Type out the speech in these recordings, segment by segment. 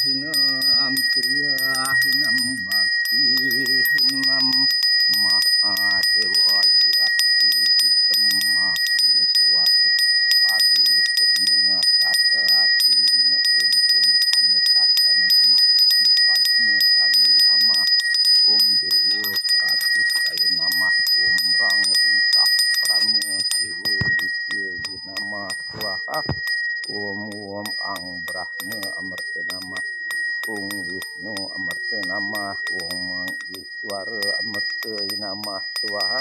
hinam kriyahinam bakti hinam Mahadewa yatu hitam maheswar paripurna sadasina anetasana nama padma sana nama dewa pratistaya nama rang ringsah prama dewa ditya nama swaha ang brahma amarta nama Wisnu amarta nama mang iswara amarta nama swaha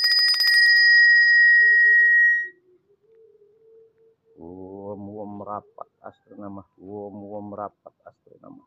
rapat astra nama rapat astra nama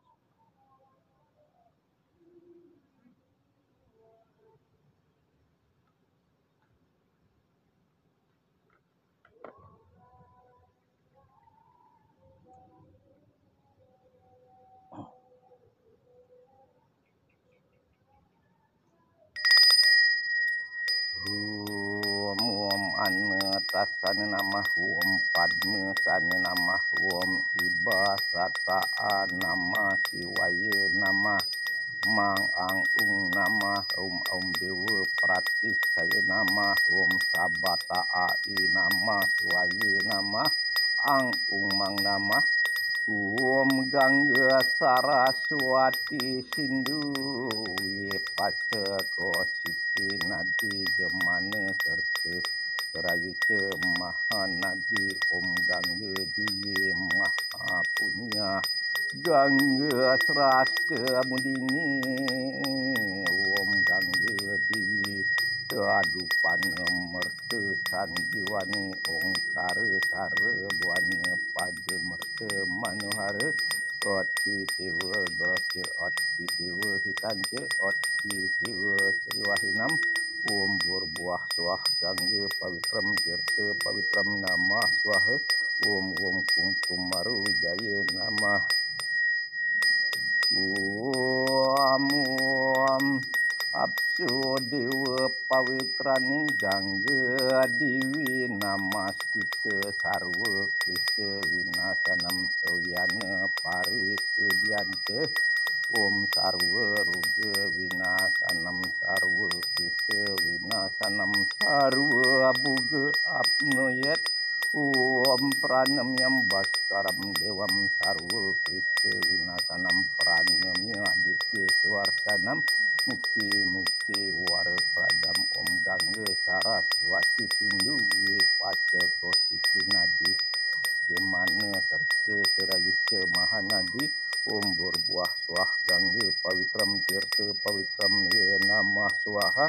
Tasana nama padma sana nama ibasata nama siwaya nama mang ang nama dewa pratistaya nama sabata ai nama siwaya nama ang mang nama gangga saraswati sindu paceko siti nadi jemana serta Rayu Mahanadi Gangga Dewi Maha Punya Gangga Srasta Mudini Gangga Dewi Keadupan Merta Sanjiwani Kara Sara Buana Pada Merta Manohara Oti Dewa Gosya Oti Dewa Hitanja Oti Dewa Sriwahinam Burbuah swah gangga pawitram tirta pawitram nama swaha kumkumaru jaya nama apsu dewa pawitraning gangga dewi nama stuta sarwa krisa winasanam toyana parisudyanta sarwa ruga winasanam sarwa krisa winasanam sarwa buga apnoyat pranamyam baskaram dewam sarwa krisa winasanam pranamya aditya swartanam mukti warapradam gangga saraswati sindu paceko siti nadi jemana serta serayuca mahanadi burbuah swah gangga pawitram tirta pawitram ye nama swaha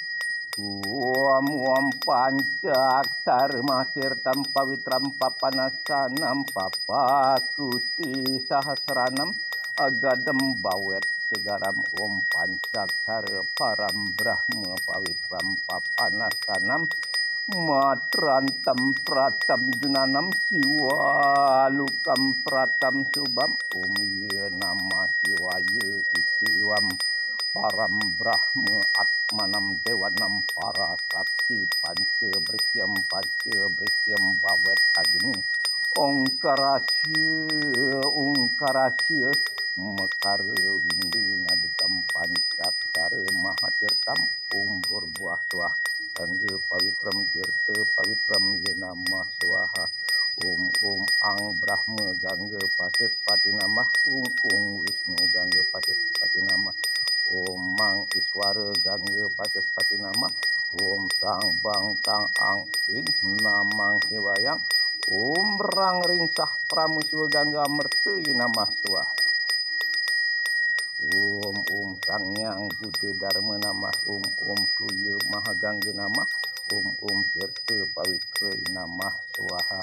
pancak tirtam pawitram papanasanam papakuti sahasranam agadam bawet segaram pancak param brahma pawitram papanasanam matrantam pratam junanam siwalukam pratam subam ye nama siwaya itiwam param brahma atmanam dewanam parasakti panca bersyam bawet agni ongkarasya mekara windu nadekam pancak sara mahatirtam burbuah swah gangga pawitram tirta pawitram ye nama swaha ang brahma gangga pasaspati nama Wisnu gangga pasaspati nama mang iswara gangga pasaspati nama sang bang tang ang in namang sewayang rang ringsah pramuswa gangga merta nama swaha sangyang buddha dharma nama tuya mahagangga nama tirta pawitra nama swaha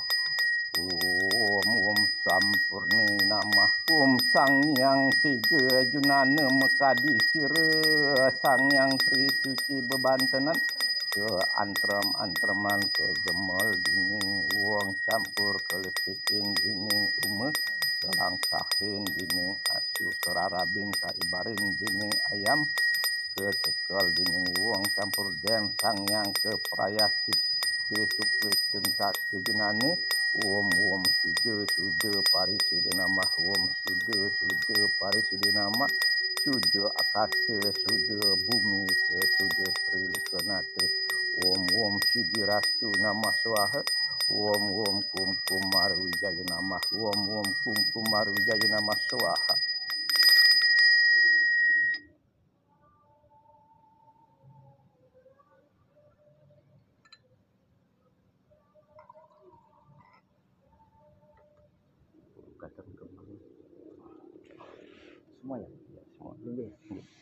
sampurna nama sangyang tiga junana mekadi sira sangyang tri suci bebantenan ke antram-antraman ke gemol dinding uang campur keletikin dinding selangkahin dinding asu kerarabin karibarin dinding ayam kecekel dinding uang campur den sangyang ke prayasit ke suplik centak ke junane suda parisuda nama suda Parisude nama Sude akase sude bumi ke sude trilukanate Om Sidirastu nama swaha Om Kum Kumar Wijaya nama Om Kum Kumar Wijaya nama swaha. Semua ya, semua dulu ya.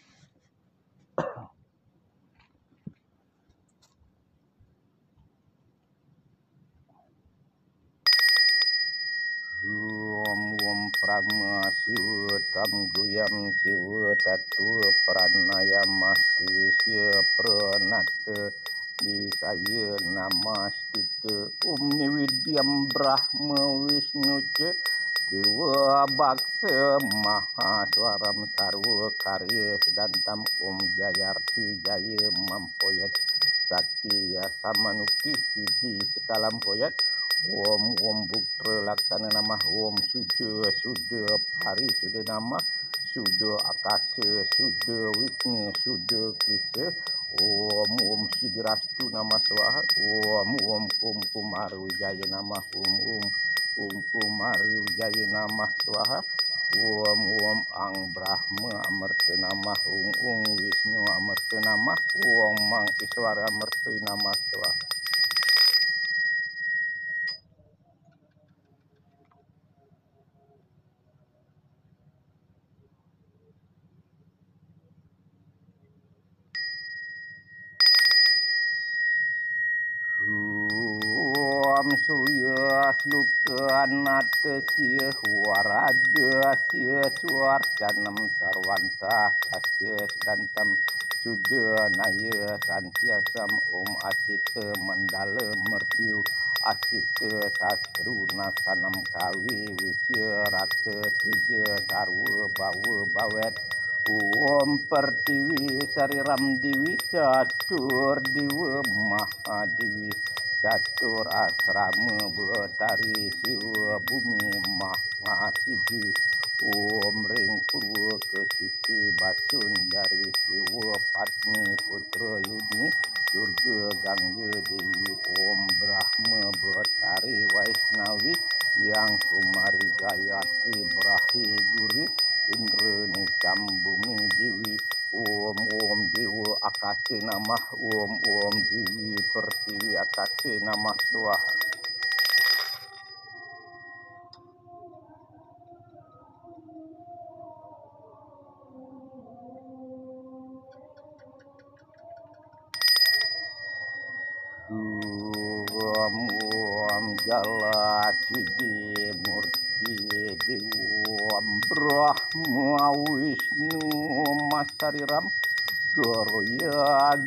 Om Prama Siwa Tamguyam Siwa Tatu Pranayama Siwisya Pranata Disaya Namastute Niwidyam Brahma Wisnu Ce Dewa Baksa Mahaswaram Sarwa Karya Sedantam Jayarti Jaya Mampoyat Satya Samanuki Sidi Sekalam Poyat Om Buktra Laksana nama Om Suda Parisude nama Suda Akasa Suda Wisnu Suda Krisa Om Sidirastu nama swaha Om Kum Kumar Wijaya nama Om Kumar Wijaya nama swaha Om Ang Brahma Amarta nama Om Wisnu Amarta nama Om Mang Iswara Amarta nama swaha. Om Surya Sluka Nata Sia Warada Sia Suarcanam Sarwanta Kasya Sedantam Suda Naya Santiasam Om Asita Mandala Mertiu Asita Sastru Nasanam Kawi Wisya Rata Tija Sarwa Bawa Bawet Om Pertiwi Sariram Diwi Catur Diwa Mahadiwi Catur Asrama Betari Siwa Bumi Mahasidi Om Ring Purwa Kesiti Basun dari Siwa Patni Putra Yudni Durga Gangga Dewi Om Brahma Betari Waisnawi Yang Kumari Gayatri Brahi Guri Indra Nikam Bumi Dewi Om Dewa Akase nama Om Dewi Pertiwi Akase nama swaha. Om Jala Sidi Murti Dewa Brahma Wisnu Masariram Gorya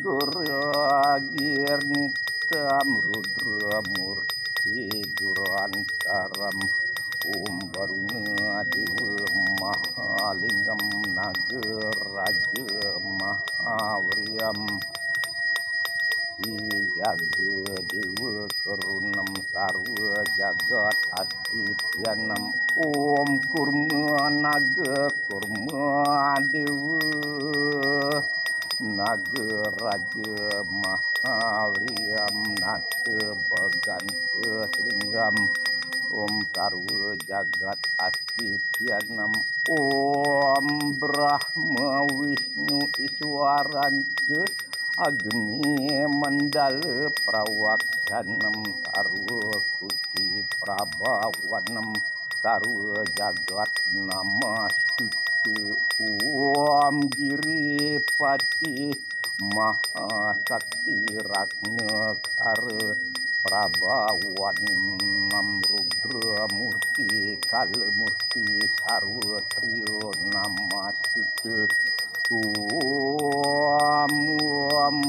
Girnitam Rudra Murti Durantaram Om Baruna Dewa Mahalingam Nagaraja Mahavriyam Jaga Dewa Karunam Sarwa Jagat Astityanam Om Kurma Naga Kurma Dewa Naga Raja Mahavriyam Nata Baganta Selinggam Om Sarwa Jagat Astityanam Om Brahma Wisnu Iswaranca Agni Mandala Prawaksanam Sarwa Kuti Prabhawanam Sarwa Jagat Namastutu Om Giripati Mahasakti Ragna Kara Prabhawanam Rudra Murti Kala Murti Sarwa Trio Namastutu Om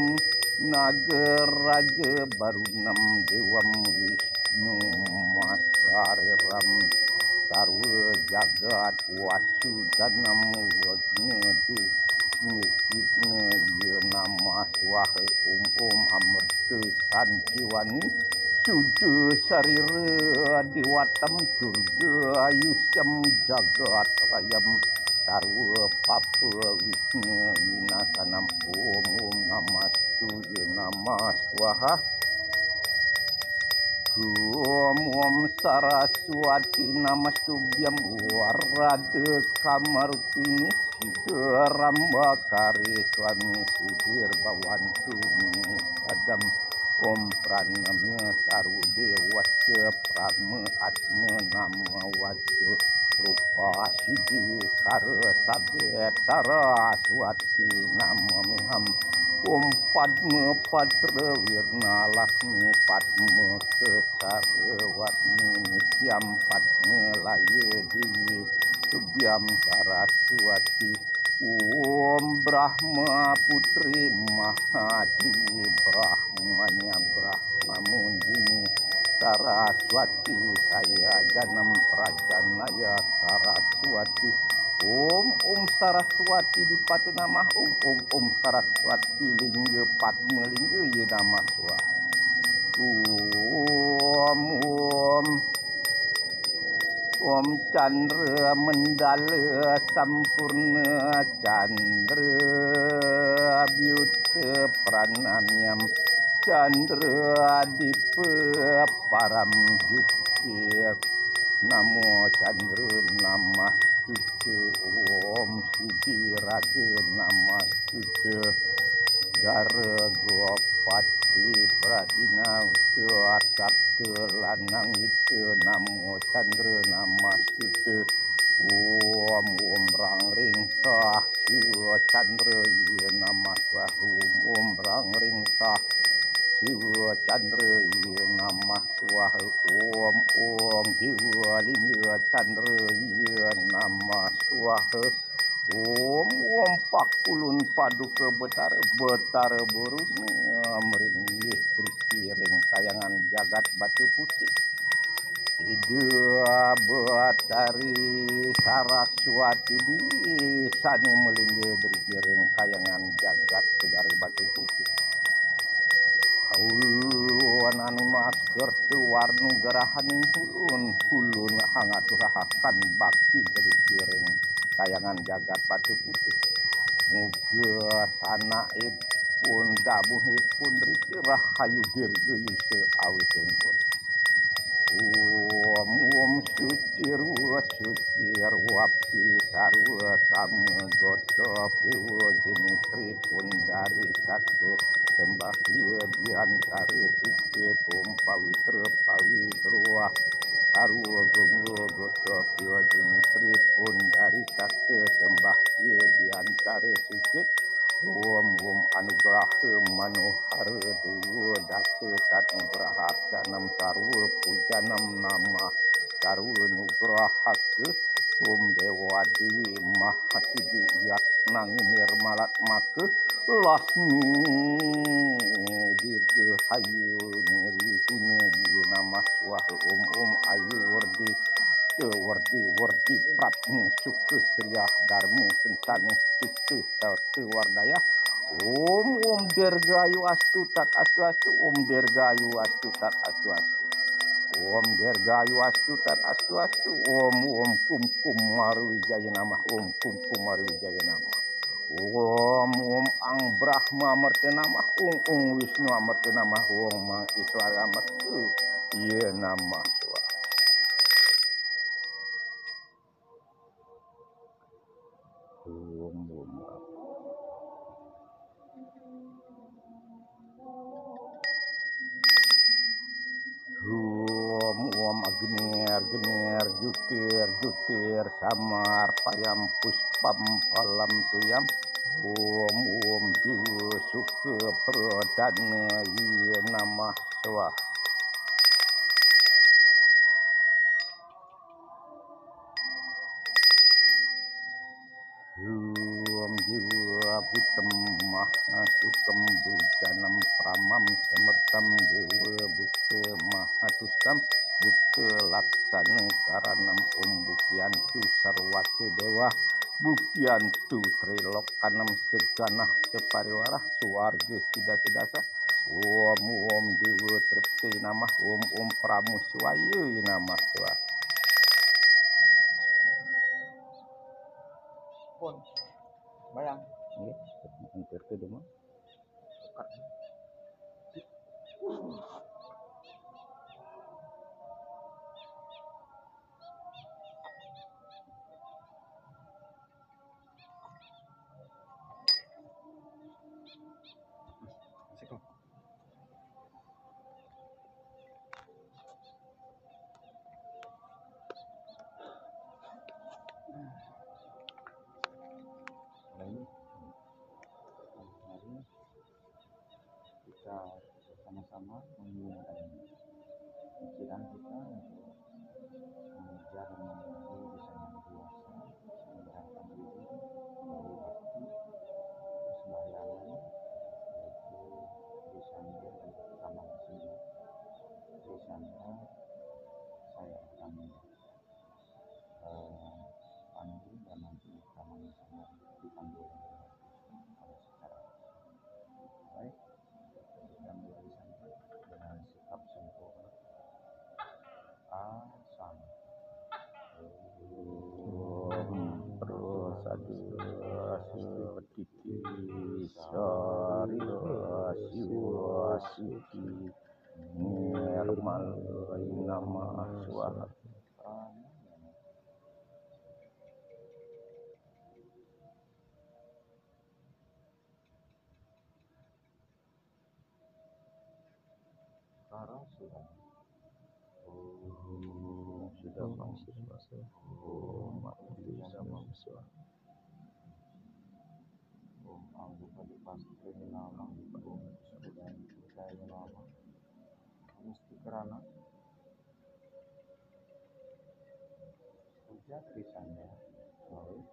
Nagaraja Barunam Dewam Wisnu Masariram Sarwa Jagat Wasudanam Wagnadi Nitipna Nama Swaha Om Amarta Sanjiwani Suda Sarira Diwatam Durga Ayusyam Jagat Rayam sarwa papa wisnu winasanam om namastu namah swaha om saraswati namastubhyam warada kamarupini siddharamba kare swami sidir bawantu sadam om pranamya sarudewasya prama atma nama wajya rupa siddhi kara sabet saraswati nama miham om padma patra wirna lasmi padma kesara warni nityam padma laya dewi subhyam saraswati om brahma putri mahadewi brahmanya brahma mundini saraswati saya janam prajanaya saraswati om saraswati di patu nama om saraswati lingga padma lingga ye nama swa om chandra mendala sampurna chandra byuta pranamyam chandra dipa param jukir namo chandra namastuta om siddhi raga namastuta dara gopati pradina sabda lanang wita namo chandra namastuta om rangring sah siwa chandra iya namaswah om rangring sah siwa chandra iya namaswah om dewa lingga chandra iya namaswah om pakulun paduka betara buruna meringih trikiring kayangan jagat batu putih ida betari saraswati di sani melingga trikiring kayangan jagat segari batu putih ulun anu masker tu warnu gerahaning hulun hangat rahakan bakti trikiring kayangan jagat batu putih muga sanaipun dabuhipun riki rahayu dirgayusa awitingpun om suci ruapi sarwa kama gota piwa jemitri pun dari sakit sembah dia biantara sikit om pawitra sarwa gonggo gota piwa jemitri pun dari sakit sembah dia biantara sikit om anugraha manohara dewa data tatnugraha canam sarwa pujanam nama sarwa nugrahaka om dewa dewi mahasiddhi yatnang nirmalat maka lasmi dirgahayu nirwiguna nama swah om ayu wardi pratni suka sriyah dharma sentani stutu sautu wardaya om dirgayu astu tat astu om dirgayu astu tat astu om dirgayu astu tat astu om kum marwijaya namah om kum marwijaya namah om ang brahma amarta namah om wisnu amarta namah om mang iswara amarta iya namah swa om agner jutir samar payam puspam palam tuyam om diwa suka pradana iya namah swah om jiwa butem mahasukam bujanam pramam semertam dewa bukta mahatustam bukta laksana karanam om bukyantu sarwati dewa bukyantu trilokanam seganah separiwarah suwarga siddhasa om dewa tripti namah om pramuswaya namah swah telepon. Bayang. Nggih, hampir ke rumah. Kita bersama-sama menggunakan pikiran kita untuk mengejar dan menjadi bisa dewasa, menyerahkan diri, kembali bakti, persembahyangan, yaitu Trisandra dan Taman Sini. Trisandra saya akan pandu dan nanti Taman Sini dipandu oleh secara baik. Kita mulai sampai dengan sikap sempurna. Asam. Sari Nirmal Nama Swaha. Sekarang sudah mati sama Swaha. Anggota di pasti nama dan saya nama mesti kerana sejak kisahnya baik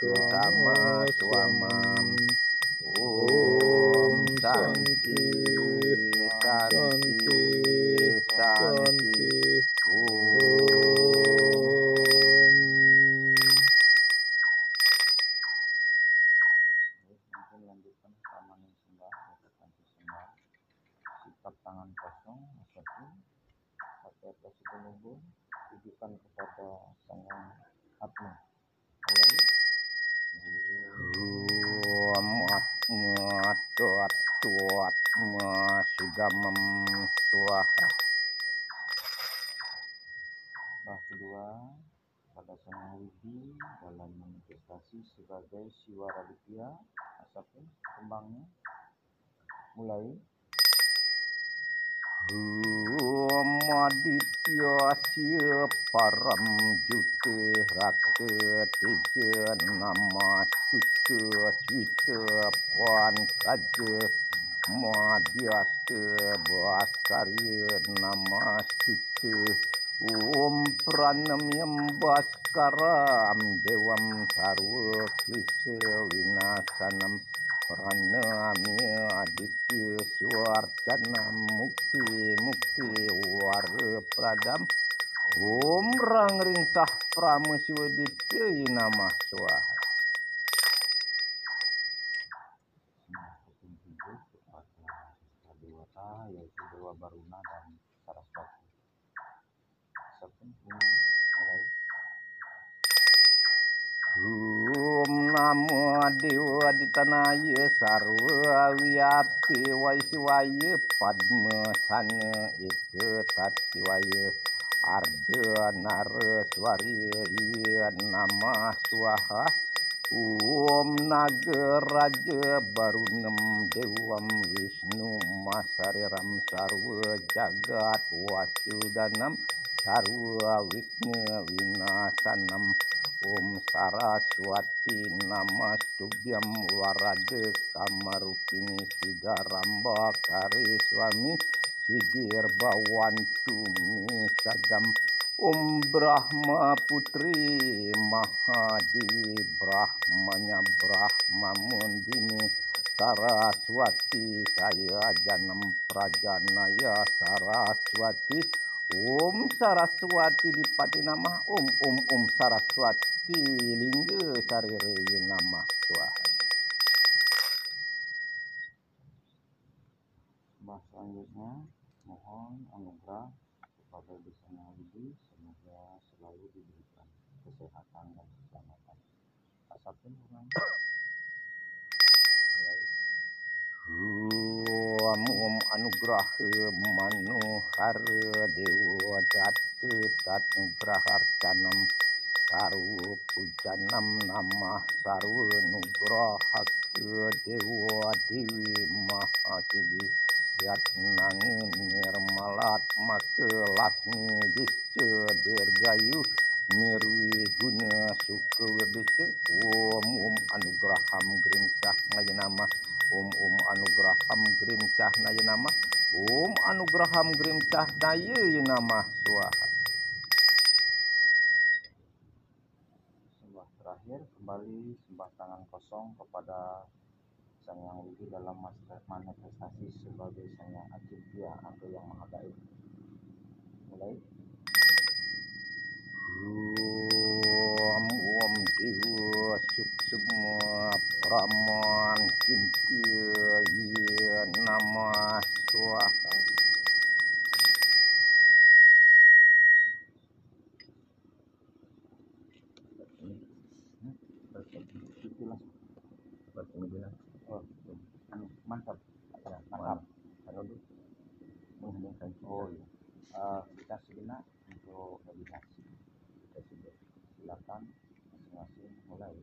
sama swamam. Om Santi, Santi, Santi. Mungkin lanjutkan sama sembah, berkata sembah. Sikap tangan kosong, satu. Pakai atas penubur, tujukan kepada Sang Yang Atma. Mulai. Sudamam swaha. Bah kedua pada Sang Yang Widi dalam manifestasi sebagai Siwara Ditya, asapun kembangnya. Mulai. Aditya Sya Param Jute Raka Teja Nama Suka Swita Puan Kaja Madhyasta Bhaskarya Nama Suka. Om Pranamyam Bhaskaram Devam Sarva Klisa Vinasanam. Pranamya Aditya Swarcanam Mukti Mukti Wara Pradam. Om Rang Ringsah Prameswaditya Namah Swaha. Sembah kepada Dewata yaitu Dewa Baruna dan Saraswati. Asapun mulai. Om Namo Dewa Ditanaya Sarva Wiyapi Waiswaya Padma Sana Eka Tatiwaya Arda Naraswarya Iya Namah Swaha. Om Nagaraja Barunam Dewam Wisnu Masariram Sarva Jagat Wasudanam Sarva Wigna Winasanam. Om Saraswati Namastubyam Warada Kamarupini Siddharamba Kariswami Sidir Bawantu Sadam. Om Brahma Putri Mahadewi Brahmanya Brahma Mundini Saraswati Saya Janam Prajanaya Saraswati. Om Saraswati Dipati Namah. Om Saraswati Lingga Sarire Namah Swaha. Sembah selanjutnya mohon anugerah kepada Sang Yang Widi, semoga selalu diberikan kesehatan dan keselamatan. Asapun ulang. Mulai. Om Anugraha Manohara Dewa Datta Tatnugraha Arcanam Sarva Pujanam Namah Sarva Nugraha Dewa Dewi Mahasidi Yatnang Nirmalat Maka Lasmi Disca Dirgayu Nirwi Guna Suka Wirdica. Om Anugraham Grimcah Nayanama. Om Anugraham Grimcah Nayanama. Om Anugraham Grimcah Nayanama Swaha. Sembah terakhir kembali sembah tangan kosong kepada Sang Yang Widi dalam manifestasi sebagai Sang Yang Acintya atau yang Maha Gaib. Mulai. Om Dewa Suksema Praman Cintya Iya Nama Swaha. Itulah. Oh, mantap. Ya, Mantap. Mengheningkan Oh iya. Kita sejenak untuk meditasi. Silakan masing-masing mulai.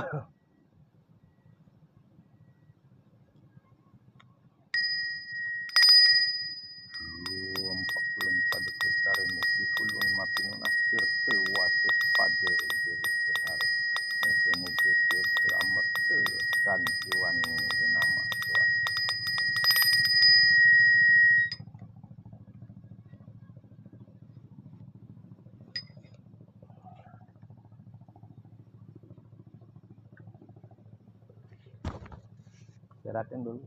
Pakulun pada kutara niki hulun mapinun akhir tewases pada diri besar. Moga-moga tirta amerta sanjiwani nama Tuhan. Istirahatin dulu.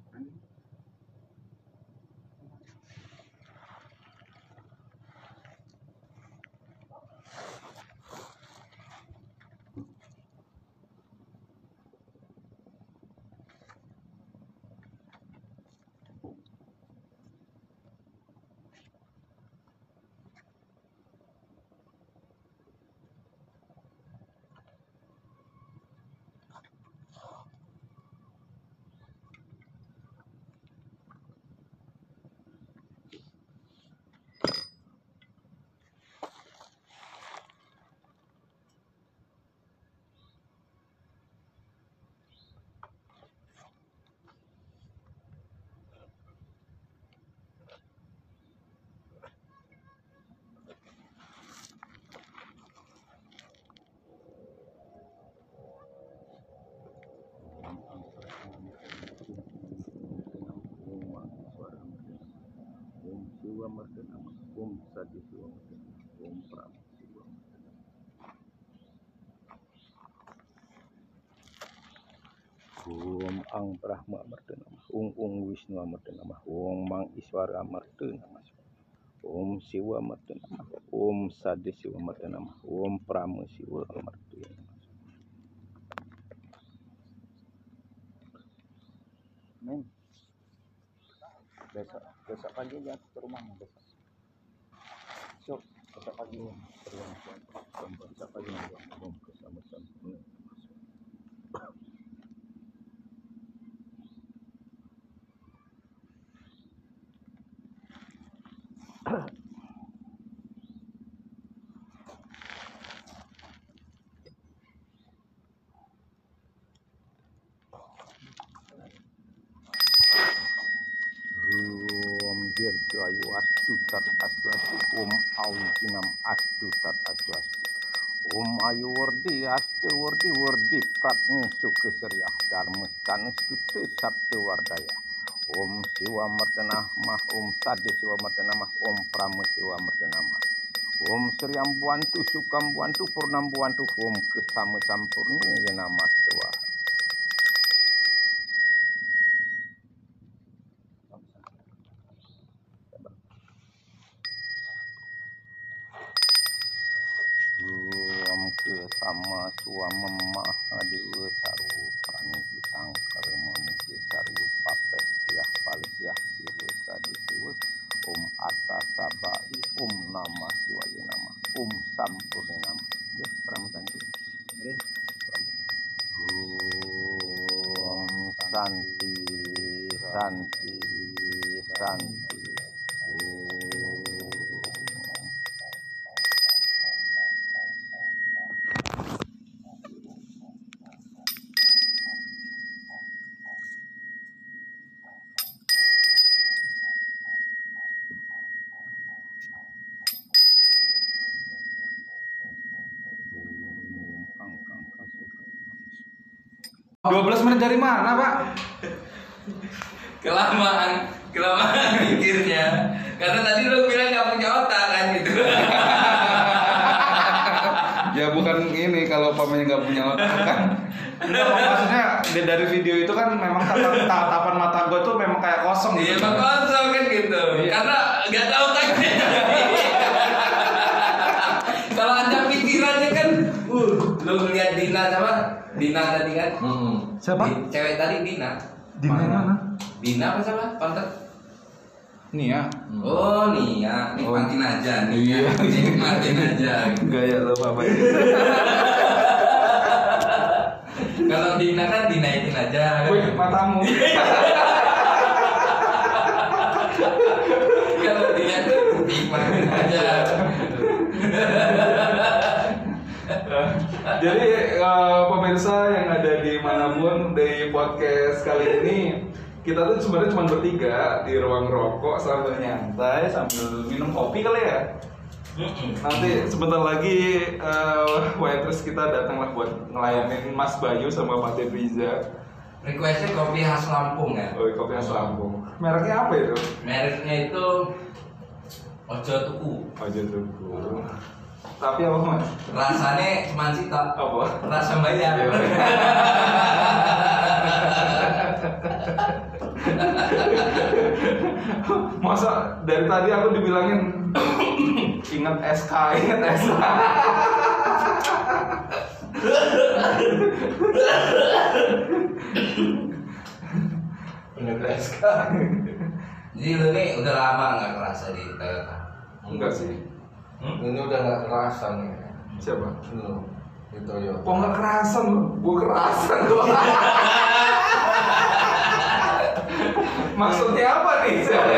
Siwa Martana Om Sadi Siwa Martana Om Pram Siwa Martana Om Ang Brahma Martana Om Wisnu Martana Om Mang Iswara Martana Om Siwa Martana Om Sadi Siwa Martana Om Pram Siwa Martana. Men, besok pagi dia ke rumah besok. So, besok pagi ke rumah. Besok pagi ngomong sama-sama. Om Dirjo Ayu Astu Tat Astu Astu Om Ausinam Astu Tat Astu Astu Om Ayu Wardi Astu Wardi Wardi Pratni Sukeseriah Dharma Kanus Tute Sabtu Wardaya Om Siwa Martana Mah Om Sade Siwa Martana Mah Om Prama Siwa Martana Mah Om Sriam Buantu Sukam Buantu Purnam Buantu Om Kesama Sampurna Ya Nama Swaha. Om Kesama Suama Mahadewa Saru Praniti Sangkar Menuju Saru Papeh Siah Palsiah Siwa Sadi Siwa Om Atasabai Om Nama Siwaya Nama Om Sampurna Nama. Ya, Pramutan itu. Om Santi Santi Santi. Oh, 12 menit dari mana, Pak? Kelamaan mikirnya. Karena tadi lu bilang gak punya otak kan gitu. Ya bukan ini kalau pamannya nggak punya otak kan. Enggak, maksudnya dari video itu kan memang tatapan mata gue tuh memang kayak kosong gitu. Iya, emang kosong kan gitu. Iya. Karena gak tahu otaknya. Kalau ada pikirannya kan, lu ngeliat Dina sama Dina tadi kan? Siapa? Cewek tadi Dina. Dina mana? Dina apa siapa? Kontak? Nia. Oh Nia, nikmatin aja nih. Iya. Nikmatin aja. Gaya lo apa ini? Kalau Dina kan dinaikin aja. Wih, matamu. Kalau Dina tuh nikmatin aja. Jadi pemirsa kita tuh sebenarnya cuma bertiga di ruang rokok sambil nyantai sambil minum kopi kali ya. Nanti sebentar lagi waitress kita datanglah buat ngelayanin Mas Bayu sama Pak Debriza. Requestnya kopi khas Lampung ya. Oh, kopi khas Lampung. Mereknya apa itu? Mereknya itu Ojo Tuku. Ojo Tuku. Tapi apa Mas? Rasanya cuma cita. Apa? Rasa bayar. Masa dari tadi aku dibilangin ingat SK. Ingat SK. Jadi lu nih udah lama nggak kerasa di Toyota? Enggak sih. Ini udah nggak kerasan ya. Siapa? Lu di Toyota. Kok nggak kerasan lu? Gue kerasan tuh. Maksudnya apa nih?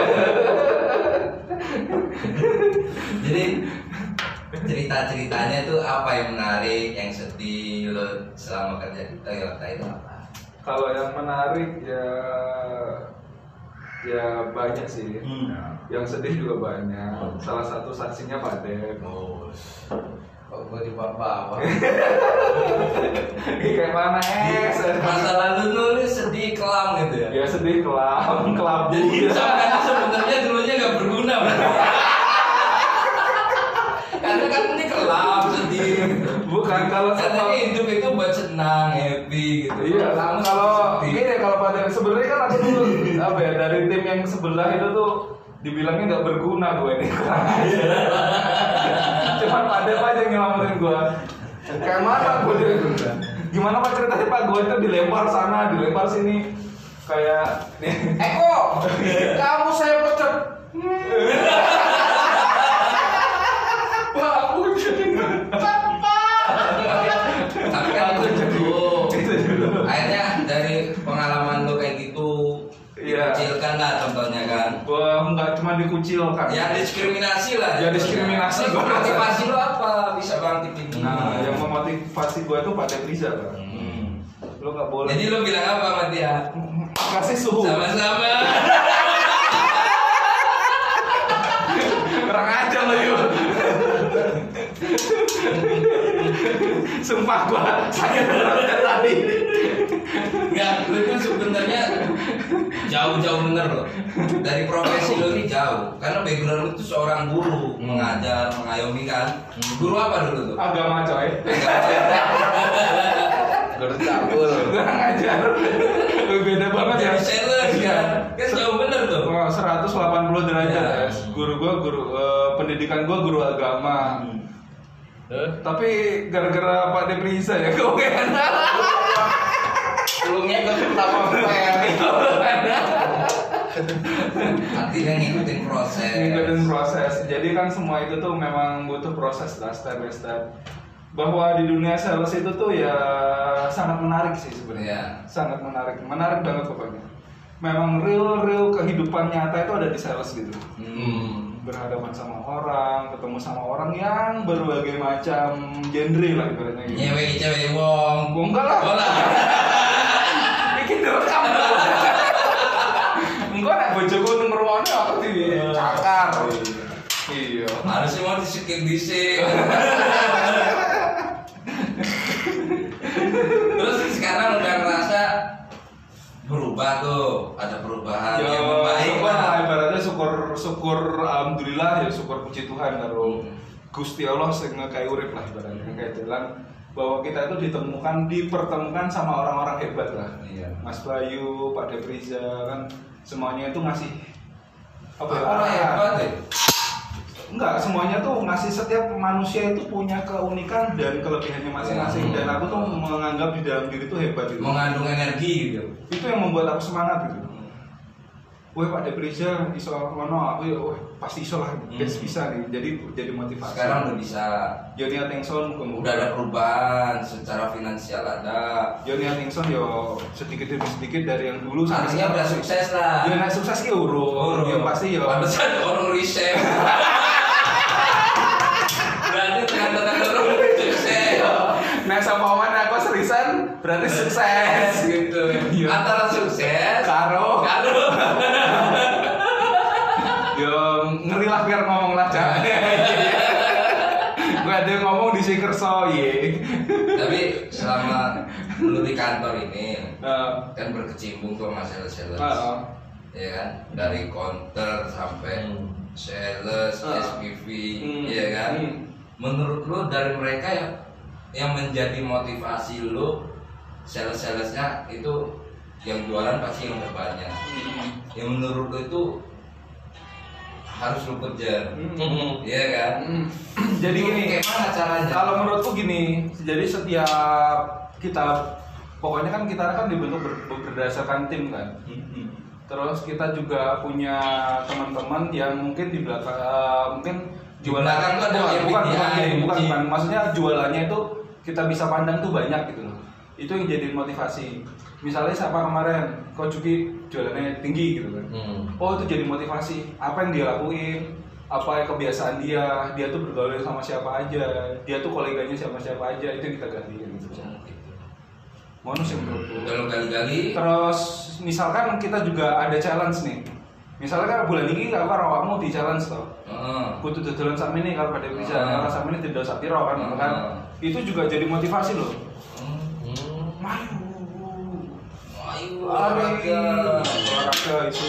Jadi cerita-ceritanya tuh apa yang menarik, yang sedih lo selama kerja di Toyota itu apa? Kalau yang menarik ya banyak sih. Yang sedih juga banyak. Salah satu saksinya Pak Dep. Kok gue di bawah? Kayak mana Masa lalu nulis sedih kelam gitu ya? Ya sedih kelam, kelabu. Jadi sampai sebenarnya dulunya nggak berguna berarti. Karena kan ini kelam sedih. Bukan kalau Katanya hidup itu buat senang, happy gitu. Iya, kalau gini kalau pada sebenarnya kan aku tuh apa ya dari tim yang sebelah itu tuh dibilangnya nggak berguna gue ini. Cuman ada apa aja yang nyelamatin gue. Kayak mana gue gimana Pak ceritanya Pak gue itu dilempar sana, dilempar sini kayak Eko, kamu saya pecat. Pak, aku jadi Tapi kan itu dulu. Akhirnya dari pengalaman lo kayak gitu, Iya. dikucilkan lah contohnya kan. Wah, nggak cuma dikucilkan. Ya diskriminasi lah. Ya, diskriminasi. Terus motivasi lo apa bisa bangkit ini? Nah, yang memotivasi gue tuh Pak Debriza kan. Lo nggak boleh. Jadi lo bilang apa sama dia? Kasih suhu. Sama-sama. Kurang aja lo yuk. Sumpah gua saya bener tadi. Enggak, lo itu sebenarnya jauh-jauh bener loh. Dari profesi lo ini jauh. Karena background lo itu seorang guru, mengajar, mengayomi kan. Guru apa dulu tuh? Agama coy. Guru cabul. Kurang ajar. Beda banget ya. Jadi sales kan. Kan jauh bener tuh. Wah, 180 derajat Ya. ya. Guru gua pendidikan gua guru agama. Tapi gara-gara Pak Debriza ya kau kan. Lu ngikut sama Artinya ngikutin proses. Ngikutin proses. Jadi kan semua itu tuh memang butuh proses lah, step by step. Bahwa di dunia sales itu tuh ya sangat menarik sih sebenarnya. Sangat menarik banget pokoknya. Memang real kehidupan nyata itu ada di sales gitu. Berhadapan sama orang, ketemu sama orang yang berbagai macam genre lah ibaratnya gitu. Nyewe cewek wong. Gua enggak lah. Bola. Bikin rekam. Enggak nak bojoku ngrungokne aku di cakar. Iya. Harusnya mau di-skip dhisik. Terus sekarang udah ngerasa berubah tuh, ada perubahan Ya, yang membaik syukur lah. lah, ibaratnya syukur alhamdulillah ya syukur puji Tuhan karo Gusti Allah sing ngekei urip lah ibaratnya kayak jalan bahwa kita itu dipertemukan sama orang-orang hebat lah. Iya. Mas Bayu, Pak Debriza kan semuanya itu ngasih apa ya? Orang hebat deh. Enggak, semuanya tuh ngasih setiap manusia itu punya keunikan dan kelebihannya masing-masing dan aku tuh menganggap di dalam diri itu hebat gitu. Mengandung energi gitu. Itu yang membuat aku semangat gitu. Wah Pak Debriza iso ngono, aku ya pasti iso lah, bisa nih. Jadi motivasi. Sekarang udah bisa. Joni Attingson Udah ada perubahan secara finansial ada. Joni Attingson yo sedikit demi sedikit dari yang dulu Artinya udah sukses lah. Ya nek sukses ki urung. Ya pasti yo. Pantesan orang riset. Berarti tanda-tanda orang sukses. Nek sama mana aku seriusan berarti sukses Gitu. Antara sukses karo kantor ini Nah, kan berkecimpung ke sama sales, ya kan, dari counter sampai sales, SPV, ya kan. Menurut lu dari mereka yang menjadi motivasi lu, salesnya itu yang jualan pasti yang terbanyak. Yang menurut lu itu harus lu kejar, ya kan? jadi Lu gini, kayak mana caranya? kalau menurutku gini, jadi setiap kita, pokoknya kan kita kan dibentuk berdasarkan tim kan. Terus kita juga punya teman-teman yang mungkin di belakang, mungkin jualan belakang tuh ada yang bukan, maksudnya jualannya itu kita bisa pandang tuh banyak gitu loh. Itu yang jadi motivasi. Misalnya siapa kemarin, Ko Juki jualannya tinggi gitu kan. Oh itu jadi motivasi. Apa yang dia lakuin, apa kebiasaan dia tuh bergaul sama siapa aja, dia tuh koleganya siapa aja, itu yang kita ganti gitu. Bonus yang menurutku. Kalau gali-gali. Terus misalkan kita juga ada challenge nih. Misalnya kan bulan ini kalau awakmu di challenge toh. Kudu dodolan sak ini kalau pada bisa, kalau sak ini tidak sak piro kan. Itu juga jadi motivasi loh. Olahraga itu.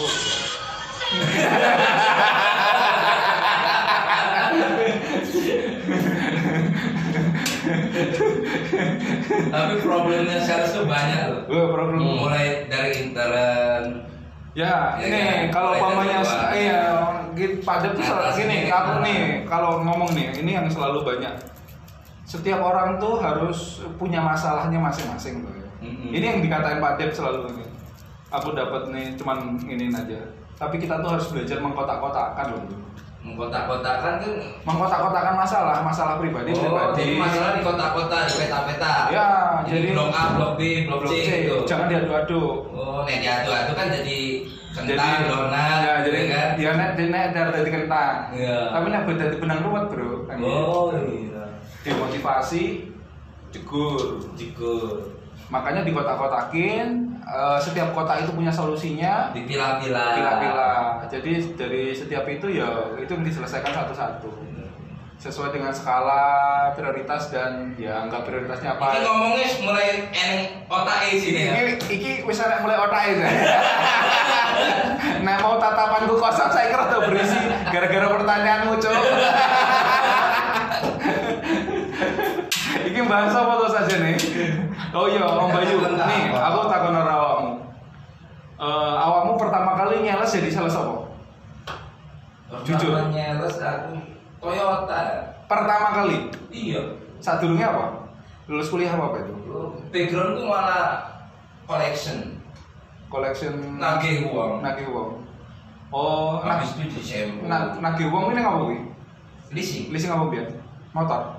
Tapi problemnya sales tuh banyak loh. Problem. Mulai dari intern. Ya, Ya ini kan? kalau Mulai umpamanya dari padat tuh Atas gini, ini, aku nih kalau ngomong nih, ini yang selalu banyak. Setiap orang tuh harus punya masalahnya masing-masing tuh. Ini yang dikatain Pak Dep selalu ini. Aku dapat nih cuman ini aja. Tapi kita tuh harus belajar mengkotak-kotakkan loh. Mengkotak-kotakan kan. Mengkotak-kotakan masalah pribadi. Jadi masalah di kotak-kotak, di peta-peta. Ya, jadi blok A, blok B, blok C gitu. Jangan diadu-adu. Oh, nek diadu-adu kan jadi Jadi kentang, donat, ya, jadi kan? dia nek dari kentang. Iya. Tapi nek beda di benang ruwet, Bro. Kan Oh gitu. iya. Dimotivasi, jegur. Makanya di kotak-kotakin, setiap kotak itu punya solusinya, Dipilah-pilah. Jadi dari setiap itu ya itu yang diselesaikan satu-satu. Sesuai dengan skala prioritas dan ya enggak prioritasnya apa. Ini ngomongnya mulai otak sini ya. Iki wis arek mulai otak itu. Nah mau tatapanku kosong saya kira udah berisi gara-gara pertanyaanmu, Cuk. Iki bahasa apa tuh saja nih? Oh iya, Om Bayu. Nih, aku takon ora awakmu. Awakmu pertama kali nyeles jadi sales apa? Jujur. Nyales aku Toyota. Pertama kali. Iya. Saat dulunya apa? Lulus kuliah apa itu? Backgroundku malah collection. Nagih uang. Oh, Habis itu di shampoo. nagih uang ini ngapa kuwi? Leasing. Leasing apa biar? Motor.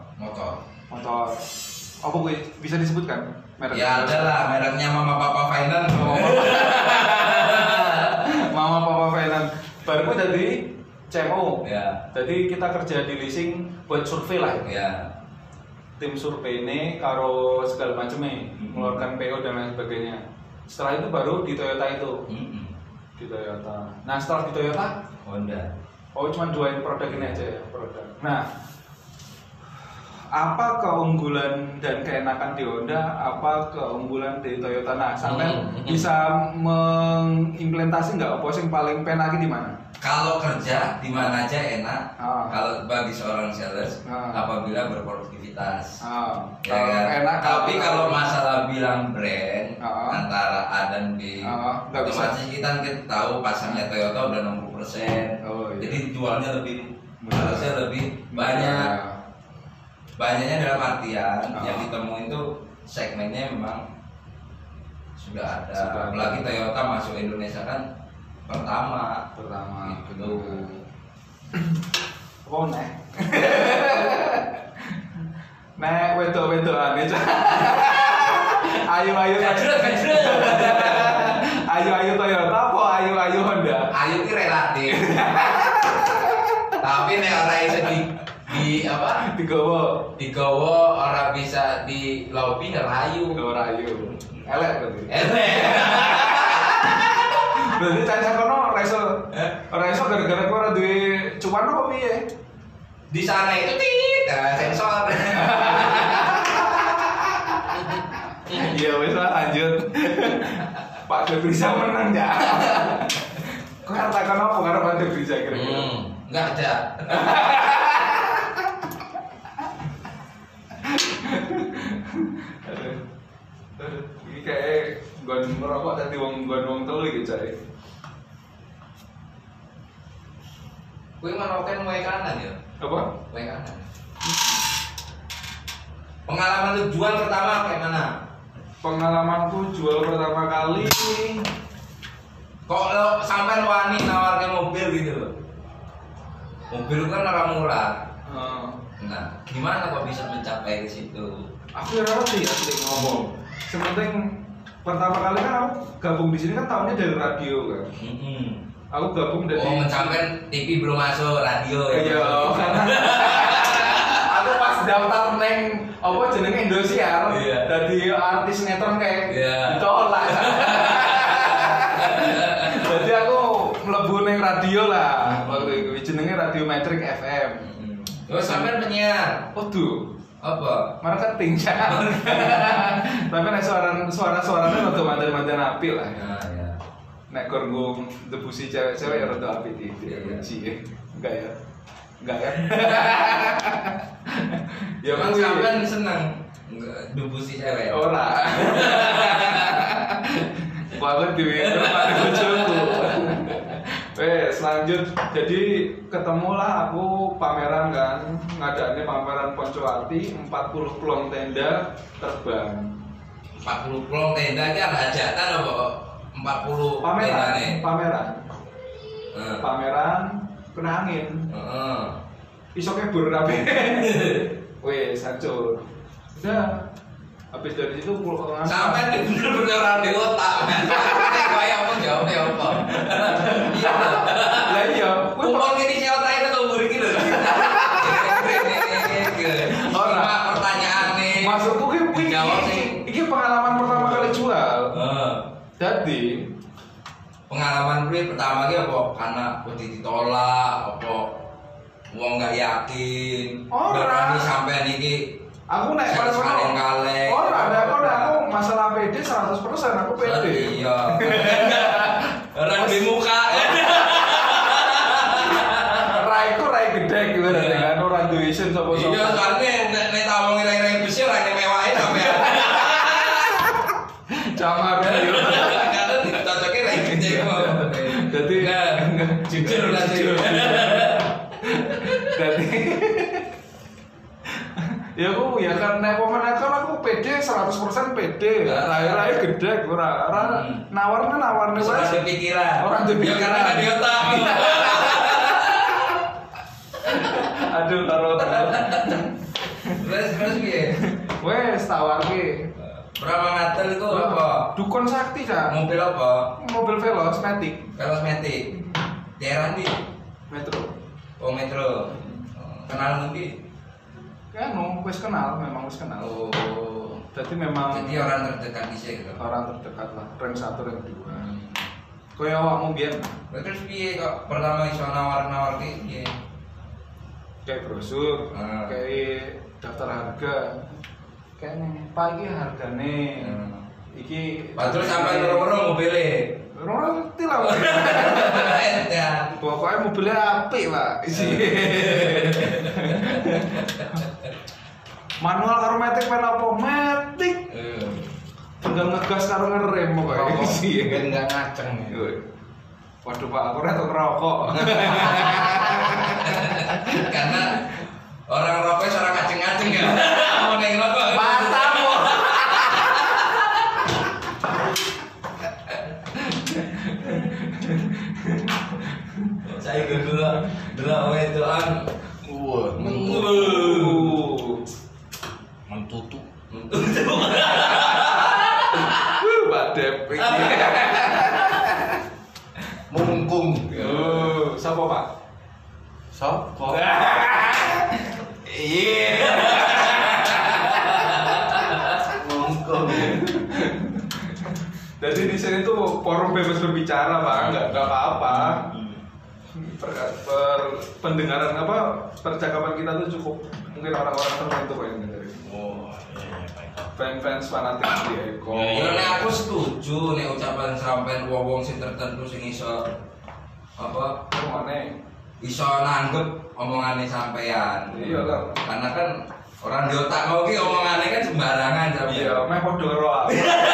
Apa kuwi bisa disebutkan merek? Ya ada lah, mereknya Mama Papa Finance. Mama Papa Finance. Baru kuwi dari CMO. Ya. Jadi kita kerja di leasing buat survei lah. Ya. Tim survei ini karo segala macamnya, mengeluarkan PO dan lain sebagainya. Setelah itu baru di Toyota itu. Di Toyota. Nah setelah di Toyota, Honda. oh cuma dua produk ini aja ya produk. Nah, apa keunggulan dan keenakan di Honda, apa keunggulan di Toyota? Nah, sampai bisa mengimplementasi nggak apa yang paling penaki di mana? Kalau kerja di mana aja enak. Ah. Kalau bagi seorang sales apabila berproduktivitas. Ya Kalau kan? enak, Tapi kalau masalah bilang brand antara A dan B, nggak bisa. otomatis kita tahu pasarnya Toyota udah 60%. Oh, iya. Jadi jualnya harusnya lebih banyak. Banyaknya dalam artian yang ditemuin tuh segmennya memang sudah ada. Apalagi Toyota masuk Indonesia kan pertama gitu. Oh nek. Nek wedok-wedokan itu. Ayo Toyota apa ayo Honda? Ayu ki relatif. Tapi nek ora iso di apa? Digawa ora bisa di lobby ngerayu. Rayu. Elek berarti. Berarti caca kono ora iso gara-gara kowe ora duwe cuan apa piye? Di sana itu sensor. Iya wes lah lanjut. Pak Debrisa menang ya. Kau katakan apa karena Pak Debrisa kira-kira? Enggak ada. Aduh. Ini kayak gon merokok tadi wong telu iki cai. Kuwi maroken wae kanan ya. Apa? Wae kanan. Pengalaman lu jual pertama kayak mana? Pengalamanku jual pertama kali Kok lo sampai wani nawarke mobil gitu loh. Mobil kan orang murah. Nah, gimana kok bisa mencapai ke situ? Aku ya ngerti ya sih ngomong. Sepenting pertama kali kan aku gabung di sini kan tahunnya dari radio kan. Aku gabung dari mencapai TV belum masuk radio ya. Iya, karena aku pas daftar neng apa jenenge Indosiar, dari artis sinetron kayak ditolak. Jadi aku mlebu neng radio lah waktu itu jenenge Radio Metric FM. Terus sampean penyiar. Waduh. Apa? Marketing ya. Tapi nek suaranya rada mandan-mandan apil lah. Ya. Nek gorgong debusi cewek-cewek ya rada apil tidak benci. Enggak ya? Enggak ya? Ya Emang sampean seneng debusi cewek? Ora. Banget di rumah bojoku. Selanjut jadi ketemulah aku pameran kan, ngadainnya pameran Poncowati 40 plong tenda terbang. 40 plong tenda ini ada hajatan apa? 40 tenda nih. Pameran kena angin. Iso kebur rapi. Wes hancur. Udah. Habis dari situ pulang sampai bener-bener orang di otak. Kayak apa jawabnya apa? Iya. Lah iya, kumpul ini si otak itu kubur iki lho. Ora pertanyaan nih. Maksudku ki jawab sih. Iki pengalaman pertama kali jual. Jadi pengalaman kuwi pertama ki apa? Karena wedi ditolak apa wong gak yakin. Berani sampai niki. Aku naik pada kali. Aku masalah PD 100% aku PD. Iya. Orang di muka. Raiku rai gede gitu kan orang duisin sapa-sapa. Iya, soalnya nek tawong rai besi ora mewahe sampean. Camar yo. Kadang dicocoknya rai gede kok. Dadi jujur lah jujur. Dadi ya aku ya karena pemenakan aku PD 100% PD. Rai gede ora nawarne wis. Orang berpikiran. Orang berpikiran. Ya karena di otak. Aduh taruh. Terus piye? Wes tawarke. Berapa ngatel itu apa? Dukun sakti Cak. Mobil apa? Mobil Velos Matic. Velos Matic. Daerah ndi? Metro. Oh, Metro. Kenal ngendi? Kan wis kenal, memang wis kenal. Oh. Jadi memang orang terdekat di sini gitu. Orang terdekat lah, rank 1 rank 2. Kaya awakmu biyen. Terus piye kok pertama iso nawar-nawar ki piye? Kayak brosur, kayak daftar harga. Kayak nih, Pak iki hargane. Iki terus sampai loro-loro mobilnya. Ora ngerti lah. Pokoknya mobilnya apik, Pak. Manual karo matic pen apa? Matic. Tinggal ngegas karo ngerem pokoknya sih. Enggak ngaceng. Waduh Pak, aku retok ngerokok. Karena orang rokok seorang ngaceng-ngaceng ya. Mau neng rokok. Matamu. Saya dulu wedoan. Mentutu. Pak Dep. Mungkung. Siapa Pak? Sopo? Iya. Mungkung. Jadi di sini tuh forum bebas berbicara Pak, nggak apa-apa. Pendengaran apa percakapan kita tuh cukup mungkin orang-orang tertentu kok yang dengerin. Oh, iya baik. fans fanatik di Eko. Ya nek aku setuju nek ucapan sampean wong sing tertentu sing iso apa Omongane. iso nanggep omongane sampean. Iya lah. Karena kan orang di otak kau ki omongane kan sembarangan sampean. Iya, meh podo karo aku.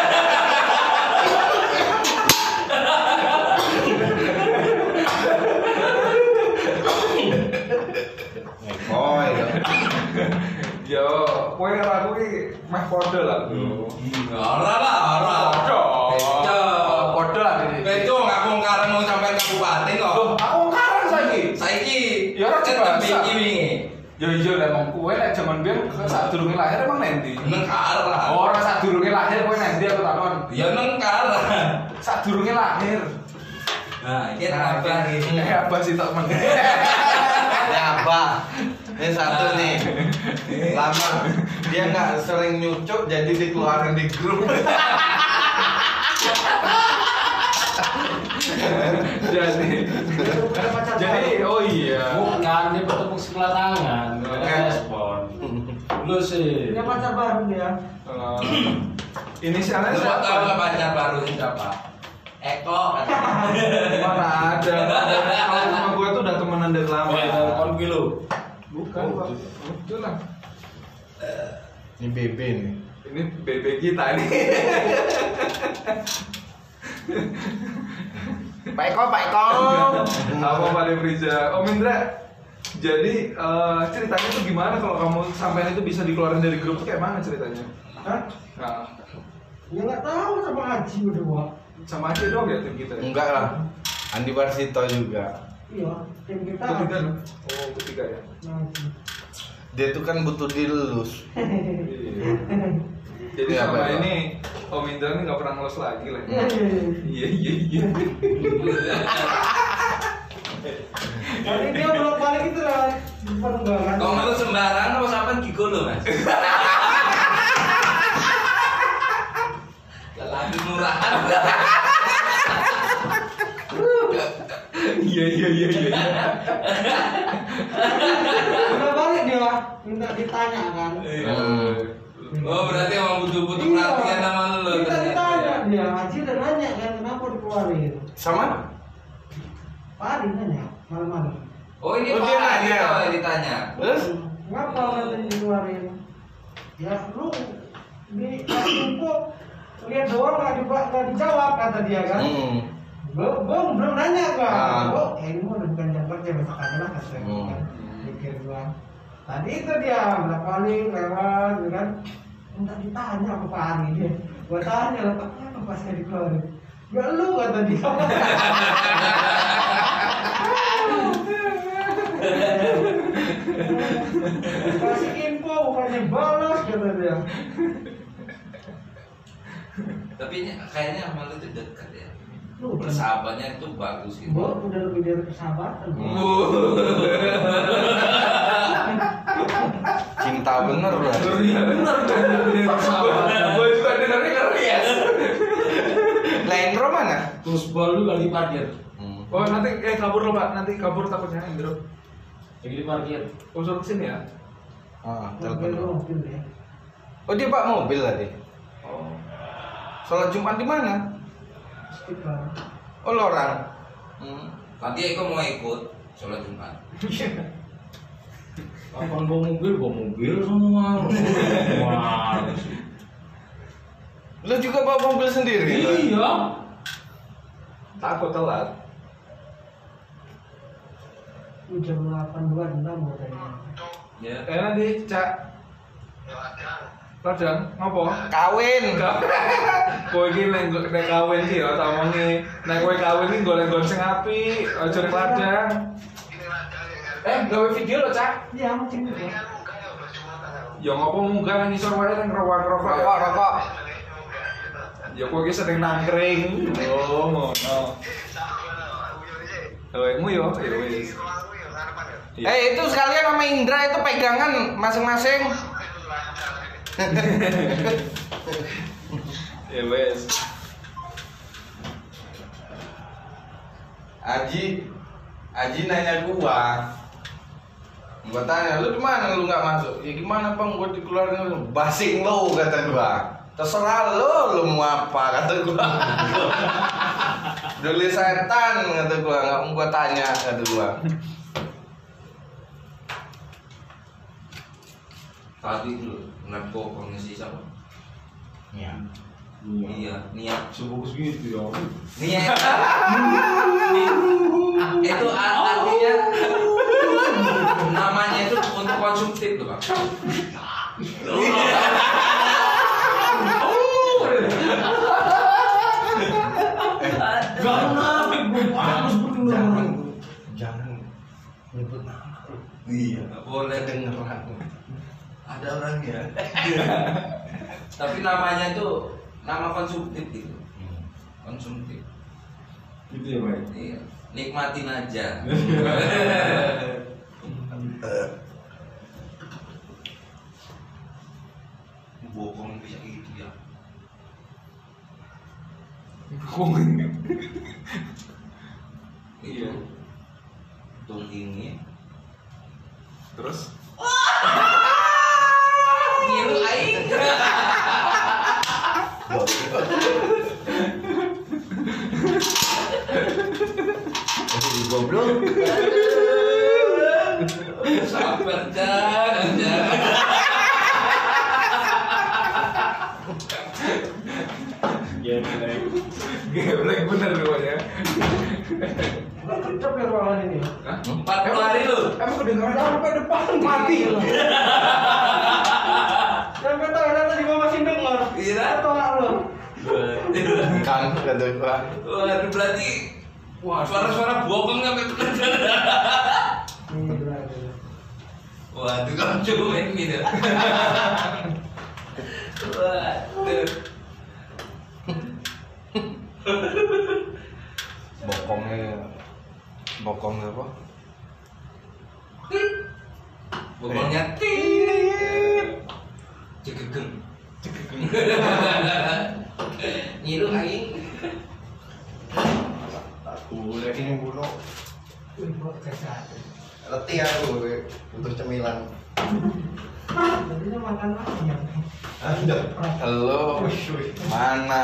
Oh iya. Yo, kowe karo aku ki meh podo lah. Ora lah, ora. Podo lah ini. Beto ngaku karang mau sampean kabupaten kok. Loh, aku karang saiki. Saiki Ya ora tetep dibahas. iki wingi. Yo iya lah emang kowe nek jaman biyen sadurunge lahir emang nendi? Nengkar lah. Ora sadurunge lahir kowe nendi aku takon. Ya nengkar. Sadurunge lahir. Nah, iki apa iki? Apa sih tok men? Ini apa? Ini satu nih. Lama dia nggak sering nyucuk jadi dikeluarin di grup. Jadi oh iya. Bukan, dia bertepuk sebelah tangan. Respon. Lu sih. Punya pacar baru dia. Inisialnya Lu siapa? tahu nggak pacar baru siapa? Eko katanya. Mana ada? Kalau sama gue tuh udah temenan dari lama. Telepon lu. Bukan, Pak. Itu lah. Ini BB nih. Ini BB kita nih. Pak Eko, Pak Eko. Apa Pak Devriza? Om Indra. Jadi ceritanya tuh gimana kalau kamu sampean itu bisa dikeluarin dari grup tuh kayak mana ceritanya? Hah? Nah, Ya nggak tahu sama Haji berdua. sama aja dong ya tim kita. Ya? Enggak lah. Andi Warsito juga. Iya, tim kita. Ketiga Haji. loh. Oh, ketiga ya. Haji. Dia tuh kan butuh dilus. Iya. Jadi Iya, sama Pak. ini Om Indra ini nggak pernah ngelos lagi lah. Iya, iya, iya. Iya iya iya. Tadi dia belum balik itu lah. Perenggangan. Kau ngeluh sembarangan apa sampean gigolo, Mas? Lelaki murahan. Iya iya iya iya. Udah balik dia, minta ditanya kan. Oh, berarti emang butuh-butuh Iya. perhatian sama lu Kita ternyata ditanya ya. dia, Haji udah nanya kan kenapa dikeluarin. Sama? Pak Adi nanya malam-malam. Oh, ini Oh, dia Pak nanya. gitu yang ditanya. Terus? Ngapa katanya dikeluarin? Ya lu di info lihat doang nggak dijawab kata dia kan. Belum nanya gua. Ah. Ini mah udah bukan jam kerja besok aja lah kata gua kan. Pikir gua. Tadi itu dia berapa kali lewat gitu kan. Minta ditanya apa Pak Ari dia. Gua tanya lah Pak kenapa pas saya dikeluarin. Ya lu kata dia. Kasih info bukannya balas kata dia. Tapi kayaknya sama lu tuh dekat ya. Lu Persahabatnya itu bagus gitu. Gua udah lebih dari persahabatan. Cinta bener lah. Iya benar kan. Gue juga dengarnya ngeri ya. Lain Ro mana? Terus bal lu kali parkir. Oh nanti kabur lo Pak, nanti kabur takutnya Indro. Jadi parkir. Oh suruh kesini ya. Mobil Telepon. mobil ya. Oh dia Pak mobil tadi. Oh. Sholat Jumat di mana? Istiqlal. Oh Lorang. Nanti Eko mau ikut sholat Jumat. Kapan bawa mobil semua. Wah. Lu juga bawa mobil sendiri? Iya. Takut telat. Jam 8.26 katanya. Ya. Nanti Cak. Radang, ngopo? Kawin. Kowe iki nek kawin iki ya tak omongi. Nek kowe kawin iki golek-golek sing apik, aja ning ladang. Gawe video lo, Cak. Iya, mungkin itu. Ya ngopo munggah nang ngisor wae nang rokok. Rokok. Ya kowe iki sering nangkring. Oh, ngono. Mu yo, ya wis. Itu sekalian sama Indra itu pegangan masing-masing. Ya wis. Aji nanya gua. Gua tanya, lu di mana lu nggak masuk? Ya gimana bang, gua dikeluarin. Basing lo kata gua. Terserah lu mau apa kata gua. Dulu setan kata gua, nggak mau gua tanya kata gua. Tadi lu ngeliat bokongnya si siapa? Iya, niat. Subuh segitu ya. Niat. Itu artinya namanya itu untuk konsumtif loh, Bang. Jangan nyebut nama. Iya, boleh Kedengeran. Ada orangnya. Tapi namanya itu nama konsumtif gitu. Konsumtif. Gitu ya, Pak. Iya, nikmatin aja. Bokong bisa gitu ya. Iya. Tung ini. Terus Ngilu aing. Jadi goblok. Sabar jangan. geblek bener pokoknya. Nggak cocok ya ruangan ini. 40 hari lu. Emang kedengeran sampai depan mati loh. Sampai toilet tadi gua masih denger. Iya. Tolak lo. Kan kata gua. Waduh berarti suara-suara bokong sampai bener. Waduh kamu cuek gitu. Waduh. Bokongnya apa? Bokongnya tit. Cekegeng. Ngilu aing. Udah ini bulu. Wih, kok kesehatan. Letih aku butuh cemilan. Jadinya makan lagi ya. Halo, mana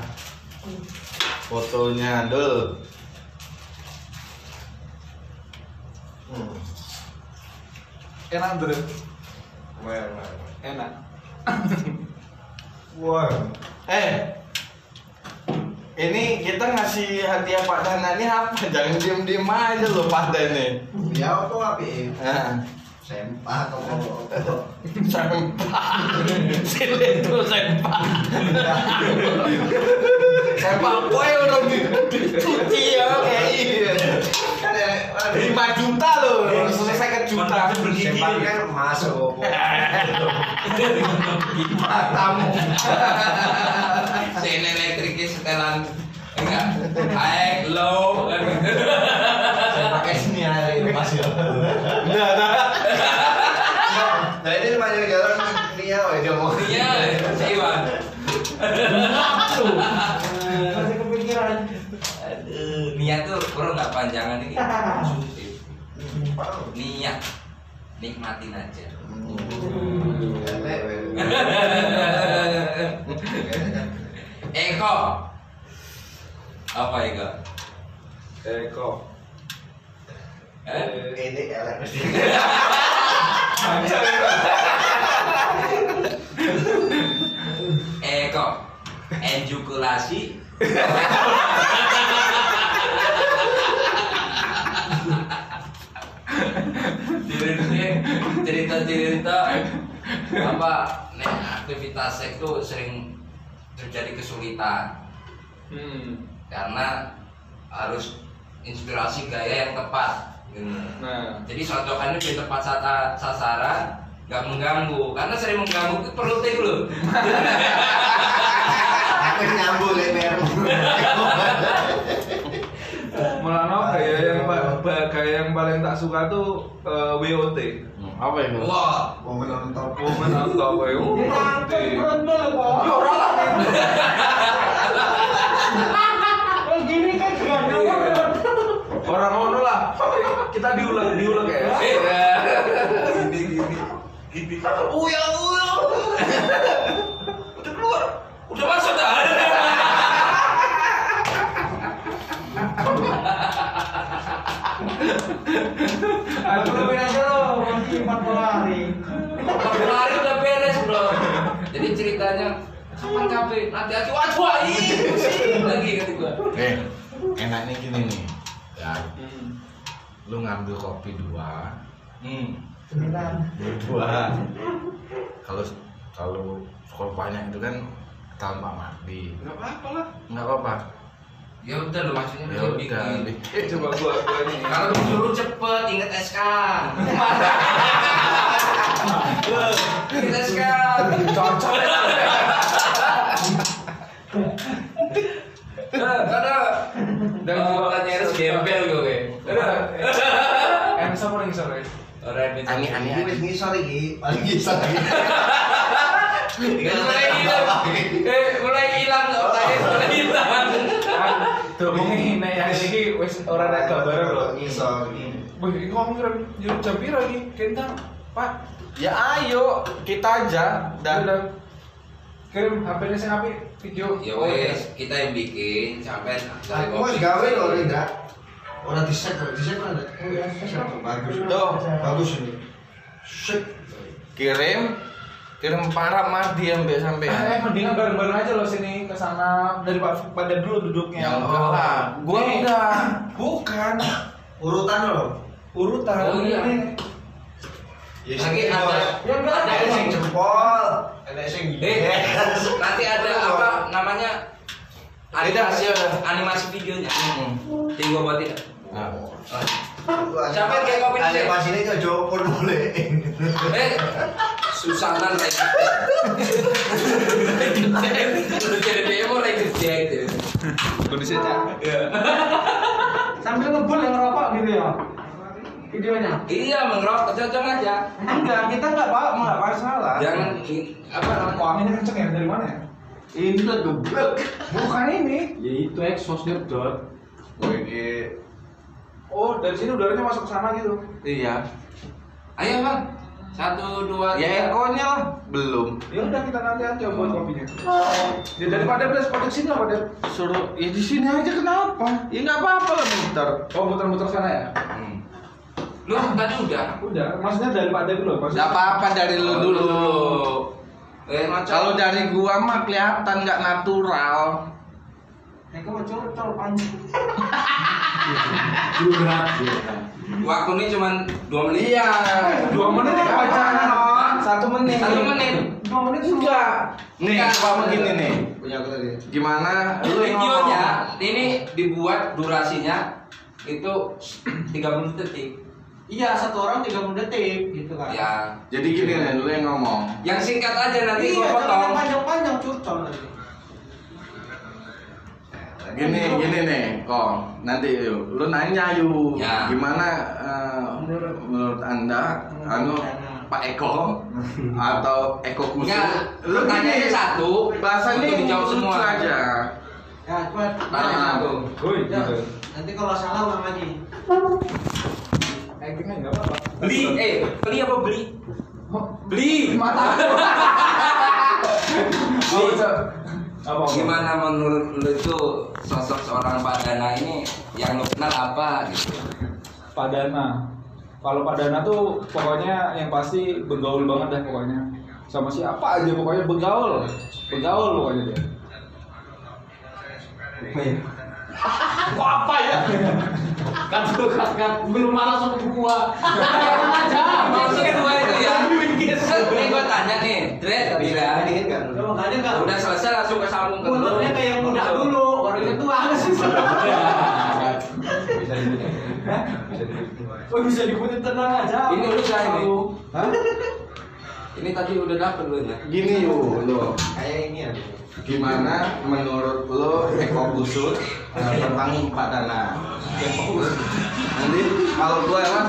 fotonya Dul? Enak bro. Enak. Wah. Ini kita ngasih hadiah Pak Dana ini apa? Jangan diem-diem aja loh Pak Dana. Ya apa api? Nah. Sempah atau Sempah. Sini tuh sempah. Sempah boy udah dicuci ya kayak ini. 5 juta loh, selesai ke juta. sempah kan masuk. Tamu. Sen elektriknya setelan enggak high low kan. Saya pakai sini hari Mas ya. Nah ini banyak jalan dia, dia mau. Iya, si Iwan. Masih kepikiran. Aduh, niat tuh bro nggak panjangan ini konsumtif. Niat nikmatin aja. Eko. Apa Eko? Eko. Ini elektrik. Eko. Ejakulasi. cerita apa nih aktivitas seks itu sering terjadi kesulitan karena harus inspirasi gaya yang tepat gitu. Nah, Jadi socokannya di tepat sasaran, nggak mengganggu karena sering mengganggu itu perlu take loh. Aku nyambung lebar. Melano gaya yang paling tak suka tuh WOT. Apa itu? Wah, Mau menonton. Woman on top WOT. Oh gini kan gak Orang ngono lah. Kita diulang ya. Gini. Udah keluar. Udah masuk dah. Aku lebih aja lo, masih 40 hari. 40 hari udah beres bro. Jadi ceritanya kapan kafe? Nanti aja waduh pusing lagi kata gua. Enaknya gini nih. Ya. Lu ngambil kopi 2. 9. Kalau banyak itu kan tambah mati. Enggak apa-apa lah. Enggak apa-apa. Ya udah lo maksudnya Ya lu udah. bikin. Coba gua ini. Kalau disuruh cepet inget SK. Inget SK. Cocok. Ada. Dan gua nyaris gembel gue. Sama orang sore. Orang Ani. Wis ngisor iki, paling ngisor iki. mulai hilang. Mulai hilang otaknya mulai hilang. Tuh ini yang ini wis ora ada kabar lho. Ngisor iki. Wih, ini ngomong jam piro iki? Kentang, Pak. Ya ayo kita aja Dan dan kirim HP-nya sing apik video. Ya wes, kita yang bikin sampai Aku wis gawe lho, Linda. Ora di-set kan ada. Bagus. Tuh. Bagus ini. Shit. kirim parah mati sampai Mendingan bareng-bareng aja loh sini ke sana daripada dulu duduknya. Ya enggak lah. Gua enggak. Bukan. Urutan lo. Urutan. Oh, iya. Ini. Ya Lagi ada ada sing jempol, ada sing nanti ada apa namanya animasi videonya. Tinggal buat tidak. Sampai kayak kopi ada pas ini ke Jopor boleh. Susanan lagi. Jadi demo lagi dia. Kondisinya. Sambil ngebul yang ngerokok gitu ya videonya. Iya mengerokok cocok aja. Enggak, kita enggak masalah. Jangan apa namanya? Wanginya kenceng ya dari mana ya? Ini tuh geblek. Bukan ini. Ya itu exhaust nyedot. Oh, dari sini udaranya masuk ke sana gitu. Iya. Ayo bang, 1, 2, 3. Ya ekonya lah belum. Ya udah kita nanti aja buat kopinya. Ya daripada pada sini apa deh? Suruh ya di sini aja kenapa? Ya nggak apa-apa lah muter. Oh muter-muter sana ya? Lu tadi udah. Udah, maksudnya daripada dulu. Nggak apa-apa dari lu dulu. Kalau dari gua mah kelihatan nggak natural. Eko mau col panjang. Waktu ini cuma 2 menit. Iya. 2 menit ya pacaran. 1 menit. 1 menit. 2 menit Enggak. Nih, Enggak. coba begini nih. Punya aku tadi. Gimana? Lu Videonya ini dibuat durasinya itu 30 detik. Iya, 1 orang 30 detik gitu kan. Ya. Jadi gini nih, lu yang ngomong. Yang singkat aja nanti Iya, gua jangan potong. panjang-panjang curcol nanti. Gini nih, kok nanti yuk, lu nanya yuk, Ya. gimana menurut anda, Pak Eko atau Eko Kusu? Enggak, Lu tanya gini, satu, bahasanya untuk dijawab lucu semua aja. Ya, cepat. Tanya satu. Woi, Ya, gitu. nanti kalau salah ulang lagi. Actingnya enggak apa-apa. Beli apa beli? Beli mata. Oh, apa? Gimana menurut lu itu sosok seorang Pak Dana ini yang lu kenal apa gitu? Pak Dana. Kalau Pak Dana tuh pokoknya yang pasti bergaul banget dah pokoknya. Sama siapa aja pokoknya bergaul. Bergaul pokoknya dia. Kok apa ya? Kan belum marah sama gua. Aja. Maksud gua itu ya. Ini gua tanya nih, Dred tadi kan. Kalau makanya enggak Udah selesai langsung ke sambung ke lu. munturnya kayak yang muda dulu, orangnya tua sih. Oh, bisa diikutin tenang aja. Ini udah ini. Hah? Ini tadi udah dapet lu ya. Gini yuk, lu. Kayak ini ya. Gimana menurut lo Eko Kusu tentang Pak Dana? Nanti kalau gue lah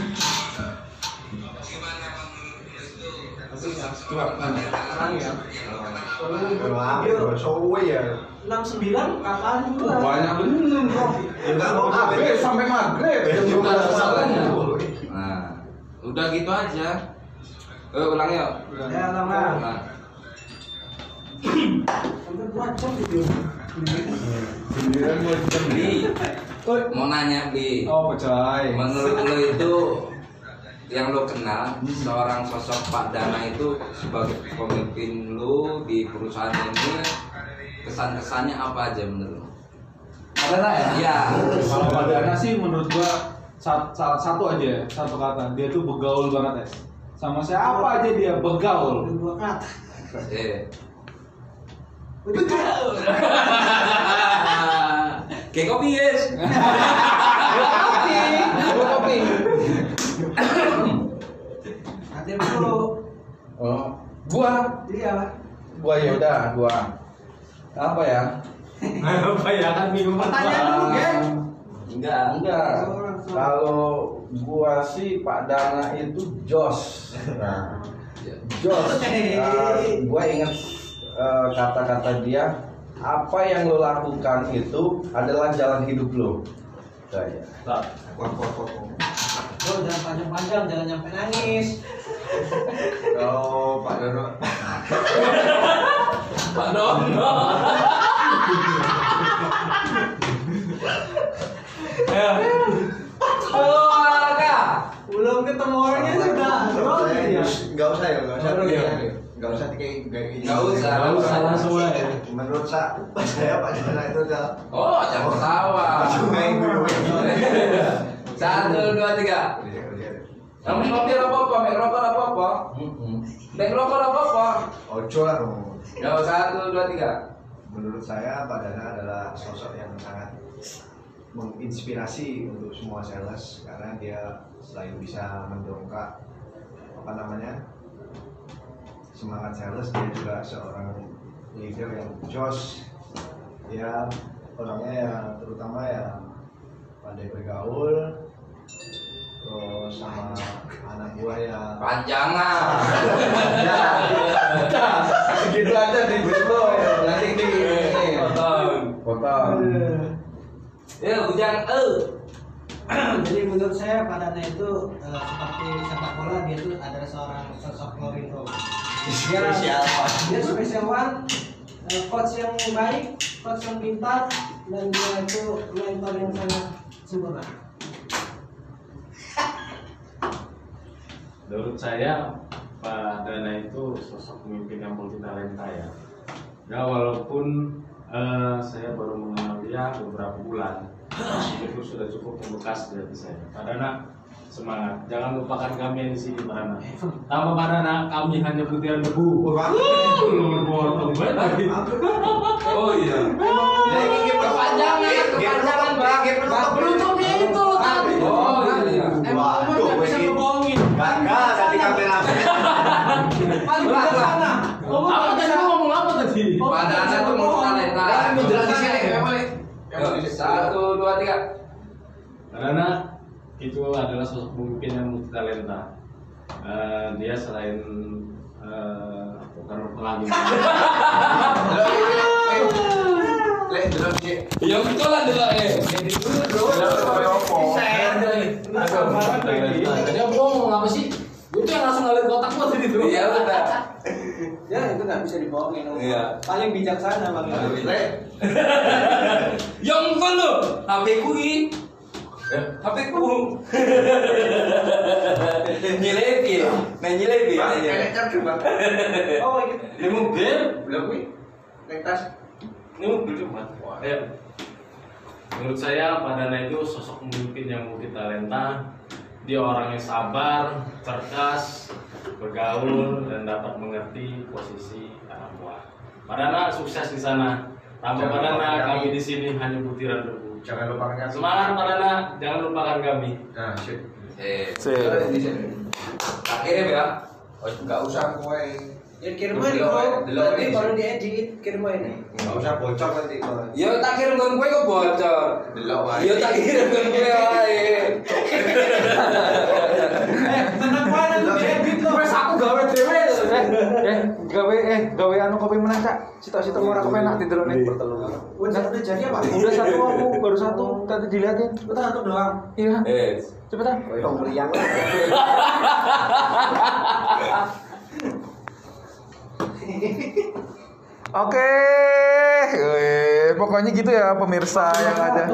Sekarang ya. Sowe ya. 69 kapan itu? banyak bener bro. Enggak mau Maghrib sampai maghrib. Nah, udah gitu aja. Ulang yuk. Ya lama. Ulang. Sampai 2 jam video. Bli. Mau nanya Bli. Oh, coy. Menurut lo itu yang lo kenal seorang sosok Pak Dana itu sebagai pemimpin lo di perusahaan ini, kesan-kesannya apa aja menurut lo? Pak Dana ya? Iya. Kalau Pak Dana sih menurut gua satu aja, satu kata. Dia tuh begaul banget ya. Sama siapa aja dia begaul. 2 kata. Begaul. Kayak kopi guys. Kopi. Nanti dulu. Oh, gua Iya. ya udah, gua apa ya? Apa ya kan bingung Pertanyaan dulu, Gen. Enggak. Kalau gua sih Pak Dana itu jos. Nah, jos. Gua ingat kata-kata dia, apa yang lo lakukan itu adalah jalan hidup lo. Saya. Oh, jangan panjang-panjang, jangan nyampe nangis. Kalau Pak Dono Pak Dono. Halo Kak. Belum ketemu orangnya sudah. nggak usah ya, nggak usah Oh, iya. nggak usah kayak Nggak usah langsung aja. menurut saya Pak Dana itu udah Oh, jangan ketawa. main dulu. 1, 2, 3. Kamu ngopi apa-apa, mek rokok apa-apa. Mek rokok apa-apa. Ojo lah kamu. Ya, 1, 2, 3. Menurut saya Pak Dana adalah sosok yang sangat menginspirasi untuk semua sales karena dia selain bisa mendongkrak semangat sales, dia juga seorang leader yang jos. Dia orangnya ya terutama ya pandai bergaul, terus sama anak buah ya Panjangan. Segitu aja di Bro ya. Nanti di potong. Ya, bujang Jadi menurut saya Pak Dana itu seperti sepak bola, dia itu adalah seorang sosok Mourinho. spesial. Dia spesial one, coach yang baik, coach yang pintar, dan dia itu mentor yang sangat sempurna. Menurut saya Pak Dana itu sosok pemimpin yang multi talenta ya. Ya walaupun saya baru mengenal dia beberapa bulan, itu sudah cukup membekas di hati saya. Pak Dana, semangat, jangan lupakan kami yang di sini Pak Dana. Tanpa Pak Dana, kami hanya butiran debu. Lu potong banget. Oh iya. Kepanjangan, Bang. Beruntuknya itu loh tadi. Oh iya. Emang nggak bisa ngebohongin. Gagal tadi kamera. Apa tadi ngomong apa tadi? Pak Dana tuh mau talenta. Jelasin sini, boleh. 1, 2, 3. Karena itu adalah sosok pemimpin yang multi talenta. Dia selain bukan pelangi. Ya betul lah dulu Dia ngomong apa sih? Itu yang langsung ngalir kotak gua tadi tuh. Iya udah. Ya itu nggak bisa dibohongin. Iya. Paling bijaksana Bang. Yang kan lo, HP ku ini. HP ku. Nyilepi, nyilepi. Oh gitu. Ini mobil, Belum nih. Tas. ini mobil cuma. Ya. Menurut saya Pak Dana itu sosok pemimpin yang multi talenta. Dia orang yang sabar, cerdas, bergaul dan dapat mengerti posisi anak buah. Pak Dana sukses di sana. Tanpa Pak Dana kami di sini hanya butiran debu. Jangan lupakan kami. Semangat Pak Dana, jangan lupakan kami. Nah, shit. Tak kirim ya. Oh, enggak usah kowe. Ya kirim aja bro. Nanti baru diedit kirim aja. Enggak usah bocor nanti. Yo tak kirim kon kowe kok bocor. Delok wae. Yo tak kirim kon kowe wae. Tenang wae nanti diedit loh. Wes aku gawe dhewe. Gawe anu kopi menang cak. Sitok-sitok ora kepenak tidur nih. Udah jadi apa? Udah satu aku, baru satu. Tadi dilihatin. Betul satu doang. Iya. Cepetan. Tong meriang. Oke, pokoknya gitu ya pemirsa yang ada.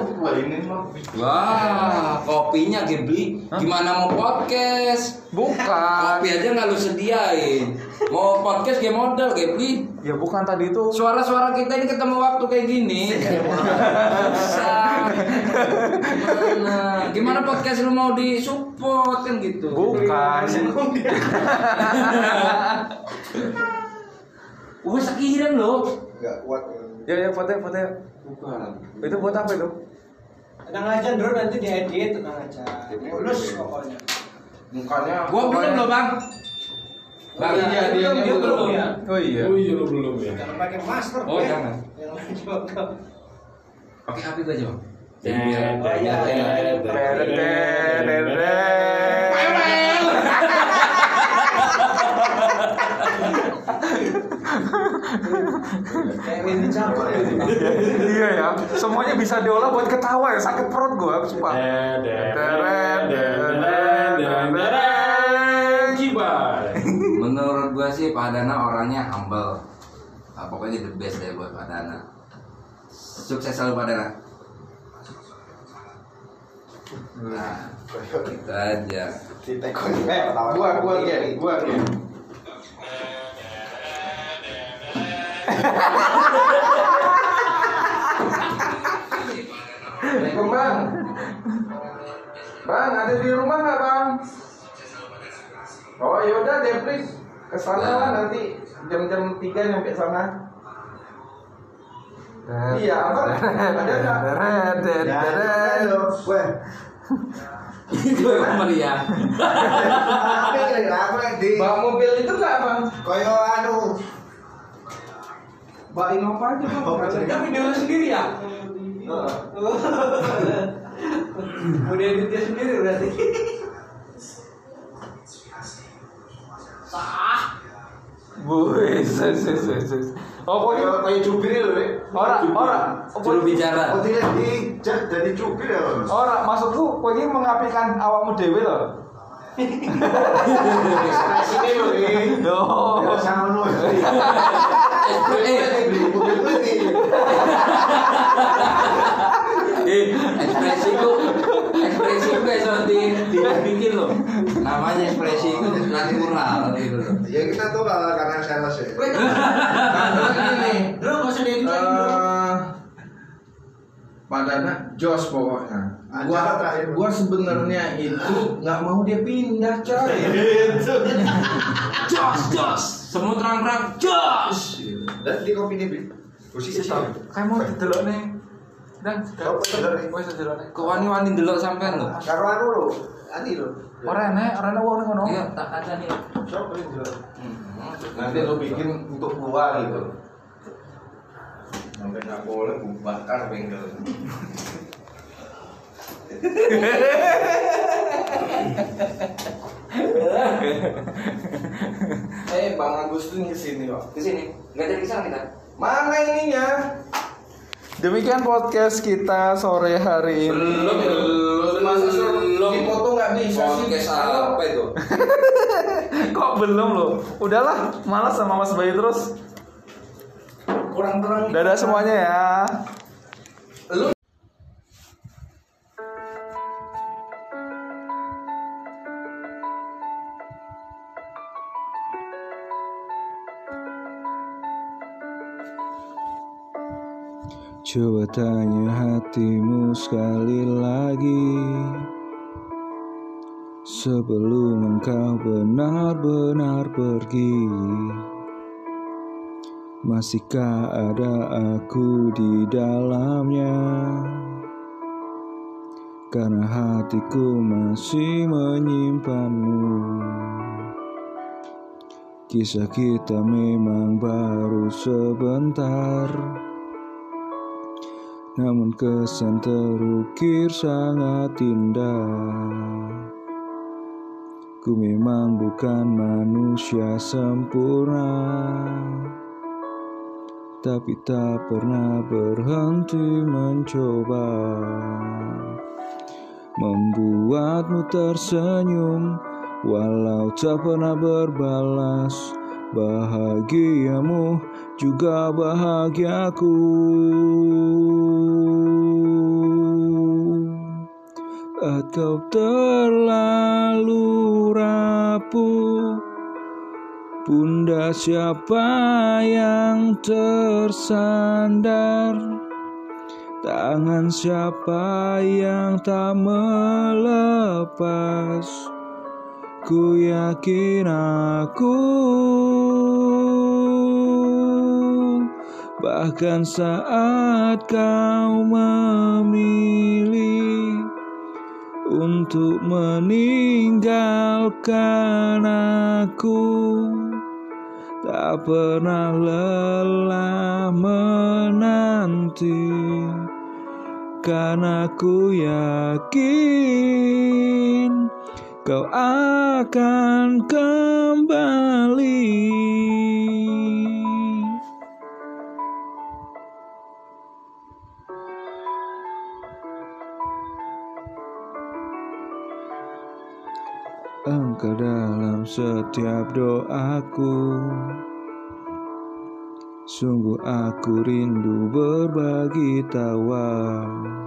Wah, kopinya Ghibli. Gimana mau podcast? Bukan. Kopi aja nggak lu sediain. Mau podcast kayak modal Ghibli. Ya bukan tadi itu. Suara-suara kita ini ketemu waktu kayak gini. Bisa. Gimana podcast lu mau disupport kan gitu? Bukan. Wah, sekiran loh. Enggak kuat. Ya foto. Bukan. Itu buat apa itu? Tenang aja bro, nanti diedit, tenang aja. Mulus pokoknya. Mukanya. Gua belum loh, Bang. Bang, Iya, dia belum ya. Oh iya. Oh iya, lu belum ya. Jangan pakai masker. Oh, jangan. Yang lain juga. Pakai HP gua aja, Bang. Kayak Windy Campur ya. Iya ya, semuanya bisa diolah buat ketawa ya, sakit perut gue, sumpah. Menurut gua sih Pak Dana orangnya humble. Pokoknya the best deh buat Pak Dana. Sukses selalu Pak Dana. Nah, itu aja. Gua. Assalamualaikum bang. Bang ada di rumah nggak bang? Oh yaudah deh please kesana lah nanti jam-jam 3 nyampe sana. Iya apa? Ada nggak? Itu meriah. Bawa mobil itu nggak bang? Koyo anu. Bawa Innova aja bang. Tapi video sendiri ya? Udah editnya sendiri berarti. Oh pokoknya Kayak cubir loh, Rek. ora. Juru bicara. Oh, tidak jadi cubir ya, Bang. Ora, maksudku kowe iki mengapikan awakmu dhewe lho. Ekspresinya loh, ini. Oh. Ya sama lu. Ekspresiku iso dibikin loh. Namanya ekspresi itu natural gitu loh. Ya kita tuh karena sales ya. Bro, nggak usah diedit lagi bro. Pak Dana jos pokoknya. Acara terakhir. Gua sebenarnya itu nggak mau dia pindah coy. Jos. Semua terang-terang jos. Dan di kopi ini, Bi. Posisi sih. Kayak mau didelok nih. Dan wis didelok nih. Kok wani-wani ndelok sampean lho. Karo anu lo, ani lo. Ora enek wong ngono. Iya, tak ada nih. Nanti lo bikin untuk gua gitu. Sampai nggak boleh bakar bengkel. Bang Agus tuh kesini kok. Kesini, nggak jadi kesana kita. Mana ininya? Demikian podcast kita sore hari ini. Belum. Dipoto nggak bisa sih. Podcast apa itu? Kok belum loh? Udahlah, malas sama Mas Bayu terus. Kurang-kurang. Dadah semuanya ya. Coba tanya hatimu sekali lagi, sebelum engkau benar-benar pergi. Masihkah ada aku di dalamnya? Karena hatiku masih menyimpanmu. Kisah kita memang baru sebentar, namun kesan terukir sangat indah. Ku memang bukan manusia sempurna, tapi tak pernah berhenti mencoba membuatmu tersenyum, walau tak pernah berbalas. Bahagiamu juga bahagiaku. Saat kau terlalu rapuh, bunda siapa yang tersandar? Tangan siapa yang tak melepas? Ku yakin aku, bahkan saat kau memilih untuk meninggalkan aku, tak pernah lelah menanti, karena ku yakin kau akan kembali. Engkau dalam setiap doaku, sungguh aku rindu berbagi tawa.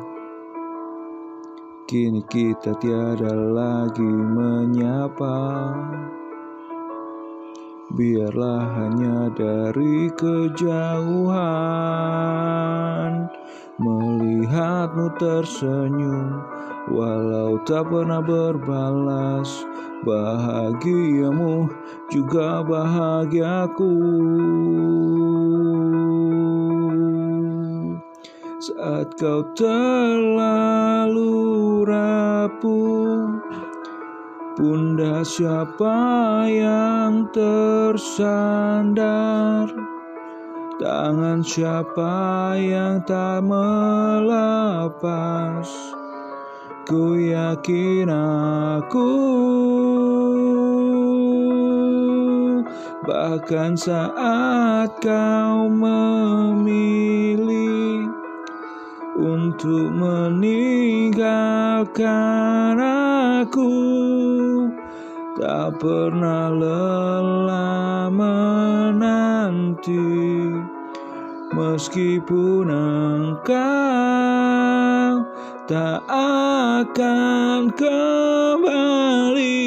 Kini kita tiada lagi menyapa, biarlah hanya dari kejauhan melihatmu tersenyum, walau tak pernah berbalas. Bahagiamu juga bahagiaku. Saat kau terlalu rapuh, bunda siapa yang tersandar? Tangan siapa yang tak melepas? Ku yakin aku, bahkan saat kau memilih untuk meninggalkan aku, tak pernah lelah menanti, meskipun engkau tak akan kembali.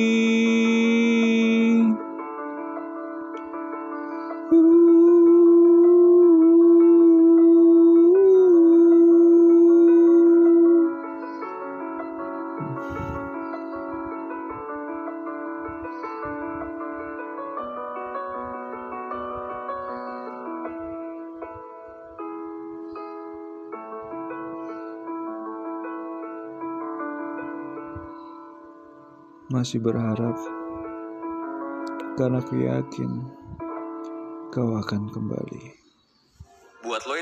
Masih berharap, karena aku yakin kau akan kembali. Buat lo